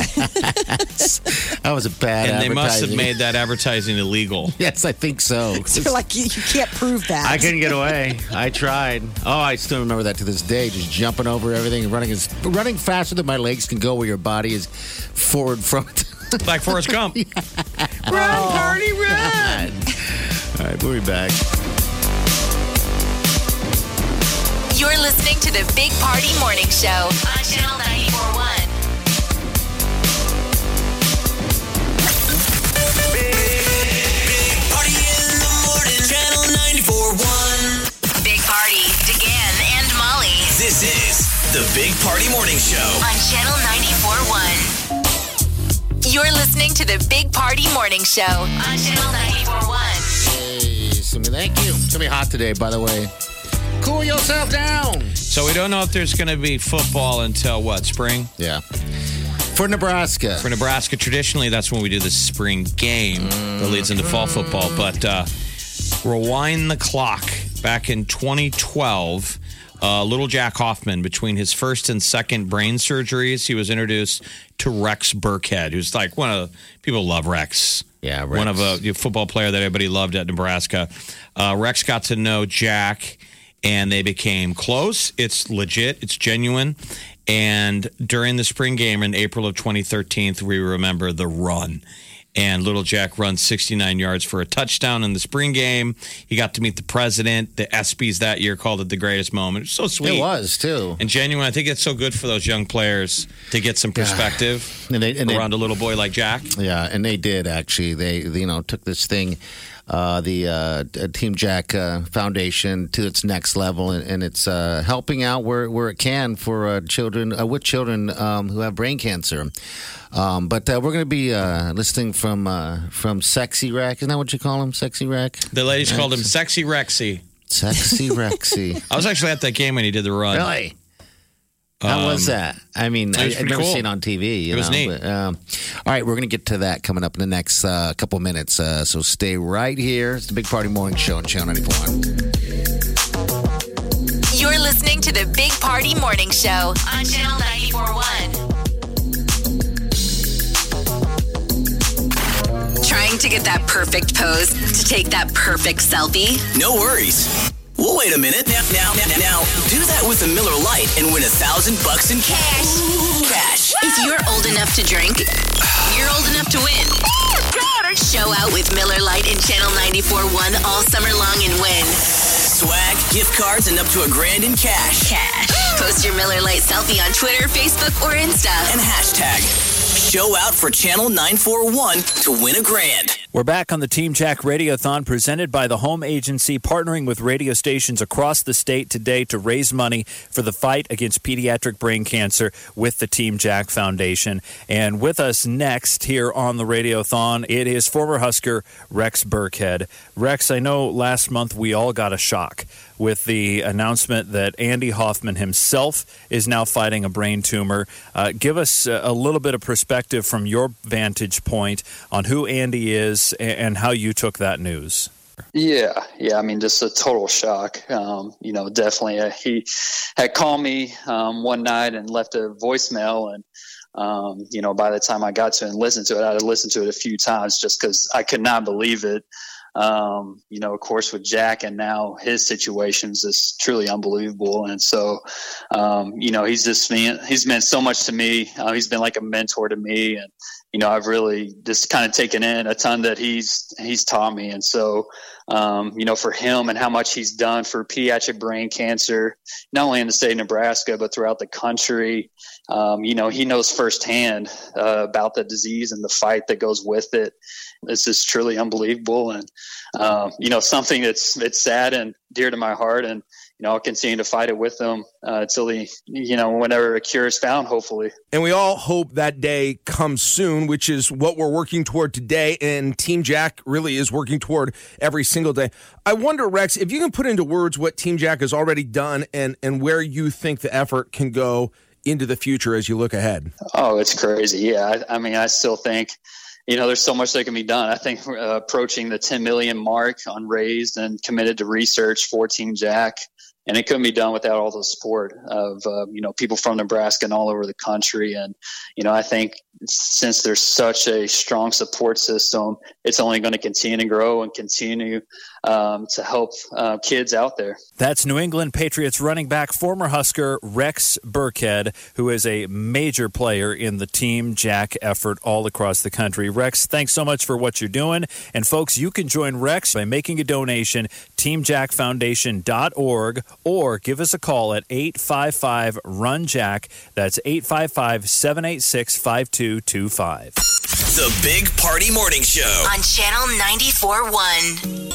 That was a bad And they must have advertising. made that advertising illegal. Yes, I think so. So you're like, you, you can't prove that. I couldn't get away. I tried. Oh, I still remember that to this day. Just jumping over everything and running as running faster than my legs can go, where your body is forward from it. Like Forrest Gump. Run, party, run! All right, we'll be back. You're listening to the Big Party Morning Show on Channel ninety-four point one. Big Party in the morning. Channel ninety-four point one. Big Party, DeGan and Molly This is the Big Party Morning Show. on Channel ninety-four point one. You're listening to the Big Party Morning Show on Channel ninety-four point one. Hey, Simi, thank you. It's going to be hot today, by the way. Cool yourself down. So we don't know if there's going to be football until what, spring? Yeah. For Nebraska. For Nebraska, traditionally, that's when we do the spring game mm. that leads into fall football. But uh, rewind the clock. Back in twenty twelve, uh, little Jack Hoffman, between his first and second brain surgeries, he was introduced to Rex Burkhead, who's like one of the people love Rex. Yeah, Rex. One of a, a football player that everybody loved at Nebraska. Uh, Rex got to know Jack, and they became close. It's legit. It's genuine. And during the spring game in April of twenty thirteen, we remember the run. And little Jack runs sixty-nine yards for a touchdown in the spring game. He got to meet the president. The ESPYs that year called it the greatest moment. It was so sweet. It was, too. And genuine. I think it's so good for those young players to get some perspective and they, and around they, a little boy like Jack. Yeah, and they did, actually. They, you know, took this thing, uh, the uh, Team Jack uh, Foundation, to its next level, and, and it's uh, helping out where, where it can for uh, children, uh, with children um, who have brain cancer. Um, but uh, we're going to be uh, listening from uh, from Sexy Rex. Isn't that what you call him? Sexy Rex? The ladies Rex. called him Sexy Rexy. Sexy Rexy. I was actually at that game when he did the run. Really? How um, was that? I mean, I, I've never cool. seen it on T V. You it was know, neat. But, um, all right, we're going to get to that coming up in the next uh, couple minutes. Uh, so stay right here. It's the Big Party Morning Show on Channel ninety-four point one. You're listening to the Big Party Morning Show on Channel ninety-four point one. Trying to get that perfect pose, to take that perfect selfie? No worries. Well, wait a minute. Now, now, now, now, do that with a Miller Lite and win a thousand bucks in cash. Cash. If you're old enough to drink, you're old enough to win. Show out with Miller Lite and Channel ninety-four point one all summer long and win. Swag, gift cards, and up to a grand in cash. Cash. Post your Miller Lite selfie on Twitter, Facebook, or Insta. And hashtag show out for Channel nine four one to win a grand. We're back on the Team Jack Radiothon presented by the Home Agency, partnering with radio stations across the state today to raise money for the fight against pediatric brain cancer with the Team Jack Foundation. And with us next here on the Radiothon, it is former Husker Rex Burkhead. Rex, I know last month we all got a shock with the announcement that Andy Hoffman himself is now fighting a brain tumor. Uh, give us a little bit of perspective from your vantage point on who Andy is and how you took that news. Yeah, yeah. I mean, just a total shock. Um, you know, definitely. Uh, he had called me um, one night and left a voicemail, and um, you know, by the time I got to it and listened to it, I had listened to it a few times just because I could not believe it. Um, you know, of course, with Jack and now his situations is truly unbelievable. And so, um, you know, he's just mean, he's meant so much to me. Uh, he's been like a mentor to me. And, you know, I've really just kind of taken in a ton that he's, he's taught me. And so, um, you know, for him and how much he's done for pediatric brain cancer, not only in the state of Nebraska, but throughout the country, um, you know, he knows firsthand uh, about the disease and the fight that goes with it. This is truly unbelievable. And, um, you know, something that's, it's sad and dear to my heart. And, you know, I'll continue to fight it with them uh, until the, you know, whenever a cure is found, hopefully. And we all hope that day comes soon, which is what we're working toward today. And Team Jack really is working toward every single day. I wonder, Rex, if you can put into words what Team Jack has already done and, and where you think the effort can go into the future as you look ahead. Oh, it's crazy. Yeah. I, I mean, I still think, you know, there's so much that can be done. I think we're uh, approaching the ten million mark on raised and committed to research for Team Jack. And it couldn't be done without all the support of, uh, you know, people from Nebraska and all over the country. And, you know, I think since there's such a strong support system, it's only going to continue to grow and continue um, to help uh, kids out there. That's New England Patriots running back, former Husker Rex Burkhead, who is a major player in the Team Jack effort all across the country. Rex, thanks so much for what you're doing. And folks, you can join Rex by making a donation, team jack foundation dot org, or give us a call at eight five five, run jack. That's eight five five, seven eight six, five two two five. The Big Party Morning Show on Channel ninety-four point one.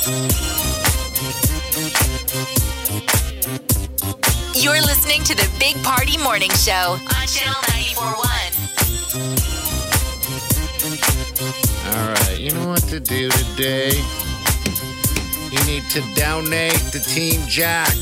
You're listening to the Big Party Morning Show on Channel ninety-four point one. You know what to do today. You need to donate to Team Jack.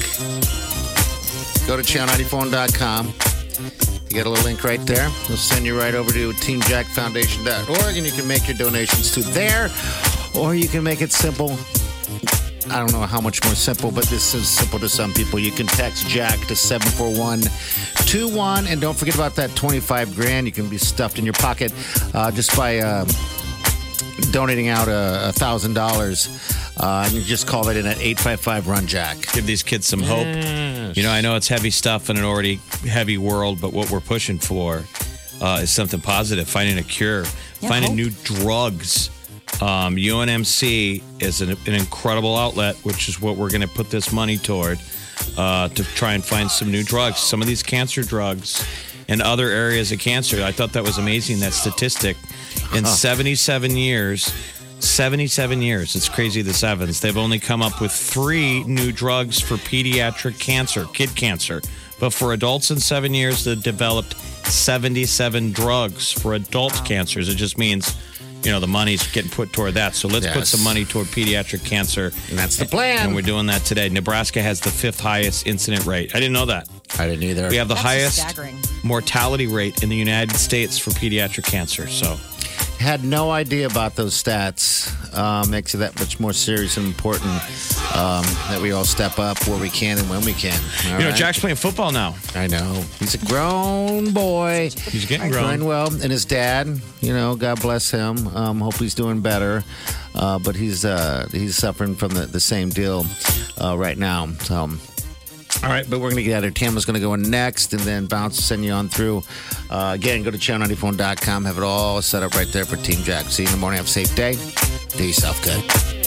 Go to channel ninety-four dot com. You got a little link right there. We'll send you right over to team jack foundation dot org, and you can make your donations to there, or you can make it simple. I don't know how much more simple, but this is simple to some people. You can text Jack to seven four one two one, and don't forget about that twenty-five grand. You can be stuffed in your pocket uh, just by uh, donating out a thousand dollars. Uh, and you just call that in at eight five five run Jack. Give these kids some hope. Yes. You know, I know it's heavy stuff in an already heavy world, but what we're pushing for uh, is something positive, finding a cure, Yeah, finding hope. new drugs. Um, U N M C is an, an incredible outlet, which is what we're going to put this money toward uh, to try and find some new drugs. Some of these cancer drugs and other areas of cancer. I thought that was amazing, that statistic. In Huh. seventy-seven years, seventy-seven years, it's crazy the sevens, they've only come up with three new drugs for pediatric cancer, kid cancer. But for adults in seven years, they've developed seventy-seven drugs for adult cancers. It just means, you know, the money's getting put toward that. So let's put Yes. some money toward pediatric cancer. And that's the plan. And we're doing that today. Nebraska has the fifth highest incident rate. I didn't know that. I didn't either. We have the That's highest staggering. mortality rate in the United States for pediatric cancer. So Had no idea about those stats. Uh, makes it that much more serious and important um, that we all step up where we can and when we can. All You know, right? Jack's playing football now. I know. He's a grown boy. He's getting Doing grown. well. And his dad, you know, God bless him. Um, hope he's doing better. Uh, but he's uh, he's suffering from the, the same deal uh, right now. So, all right, but we're going to get out of here. Tamara's going to go in next, and then Bounce will send you on through. Uh, again, go to channel ninety-four dot com. Have it all set up right there for Team Jack. See you in the morning. Have a safe day. Do yourself good.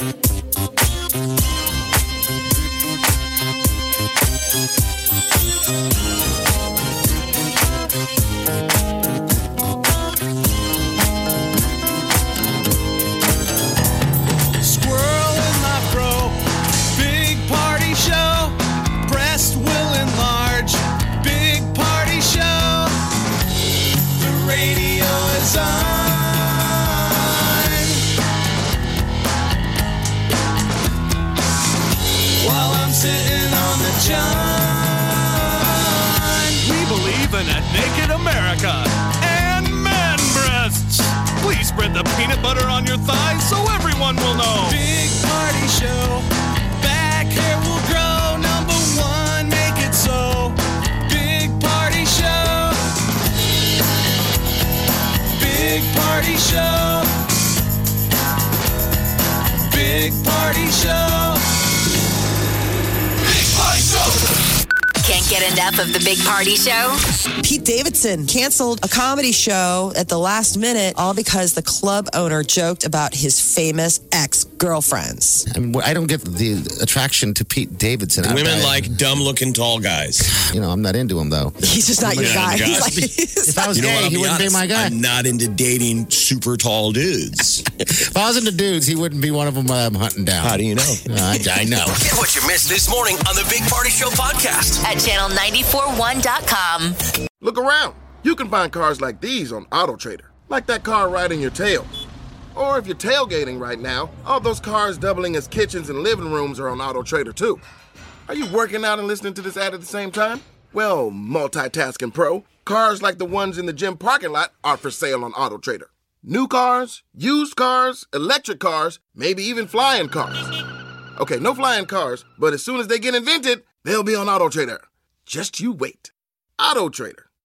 Squirrel in my fro. Big party show. Breast will enlarge. Big party show. The radio is on. While I'm sitting on the john. We believe in a naked America and man breasts. Please spread the peanut butter on your thighs so everyone will know. Big party show. Back hair will grow. Number one, make it so. Big party show. Big party show. Big party show. Big party show. Can't get enough of the Big Party Show? Pete Davidson canceled a comedy show at the last minute, all because the club owner joked about his famous ex-girlfriends. I mean, I don't get the attraction to Pete Davidson. I- Women I- like dumb-looking tall guys. You know, I'm not into him, though. He's just not your Yeah, guy. guys. He's like, he's If I was You know gay, what? I'll he be wouldn't honest. be my guy. I'm not into dating super tall dudes. If I was into dudes, he wouldn't be one of them I'm hunting down. How do you know? I, I know. Get what you missed this morning on the Big Party Show podcast. At channel nine four one dot com. Look around. You can find cars like these on AutoTrader, like that car right in your tail. Or if you're tailgating right now, all those cars doubling as kitchens and living rooms are on AutoTrader too. Are you working out and listening to this ad at the same time? Well, multitasking pro, cars like the ones in the gym parking lot are for sale on AutoTrader. New cars, used cars, electric cars, maybe even flying cars. Okay, no flying cars, but as soon as they get invented, they'll be on AutoTrader. Just you wait. AutoTrader.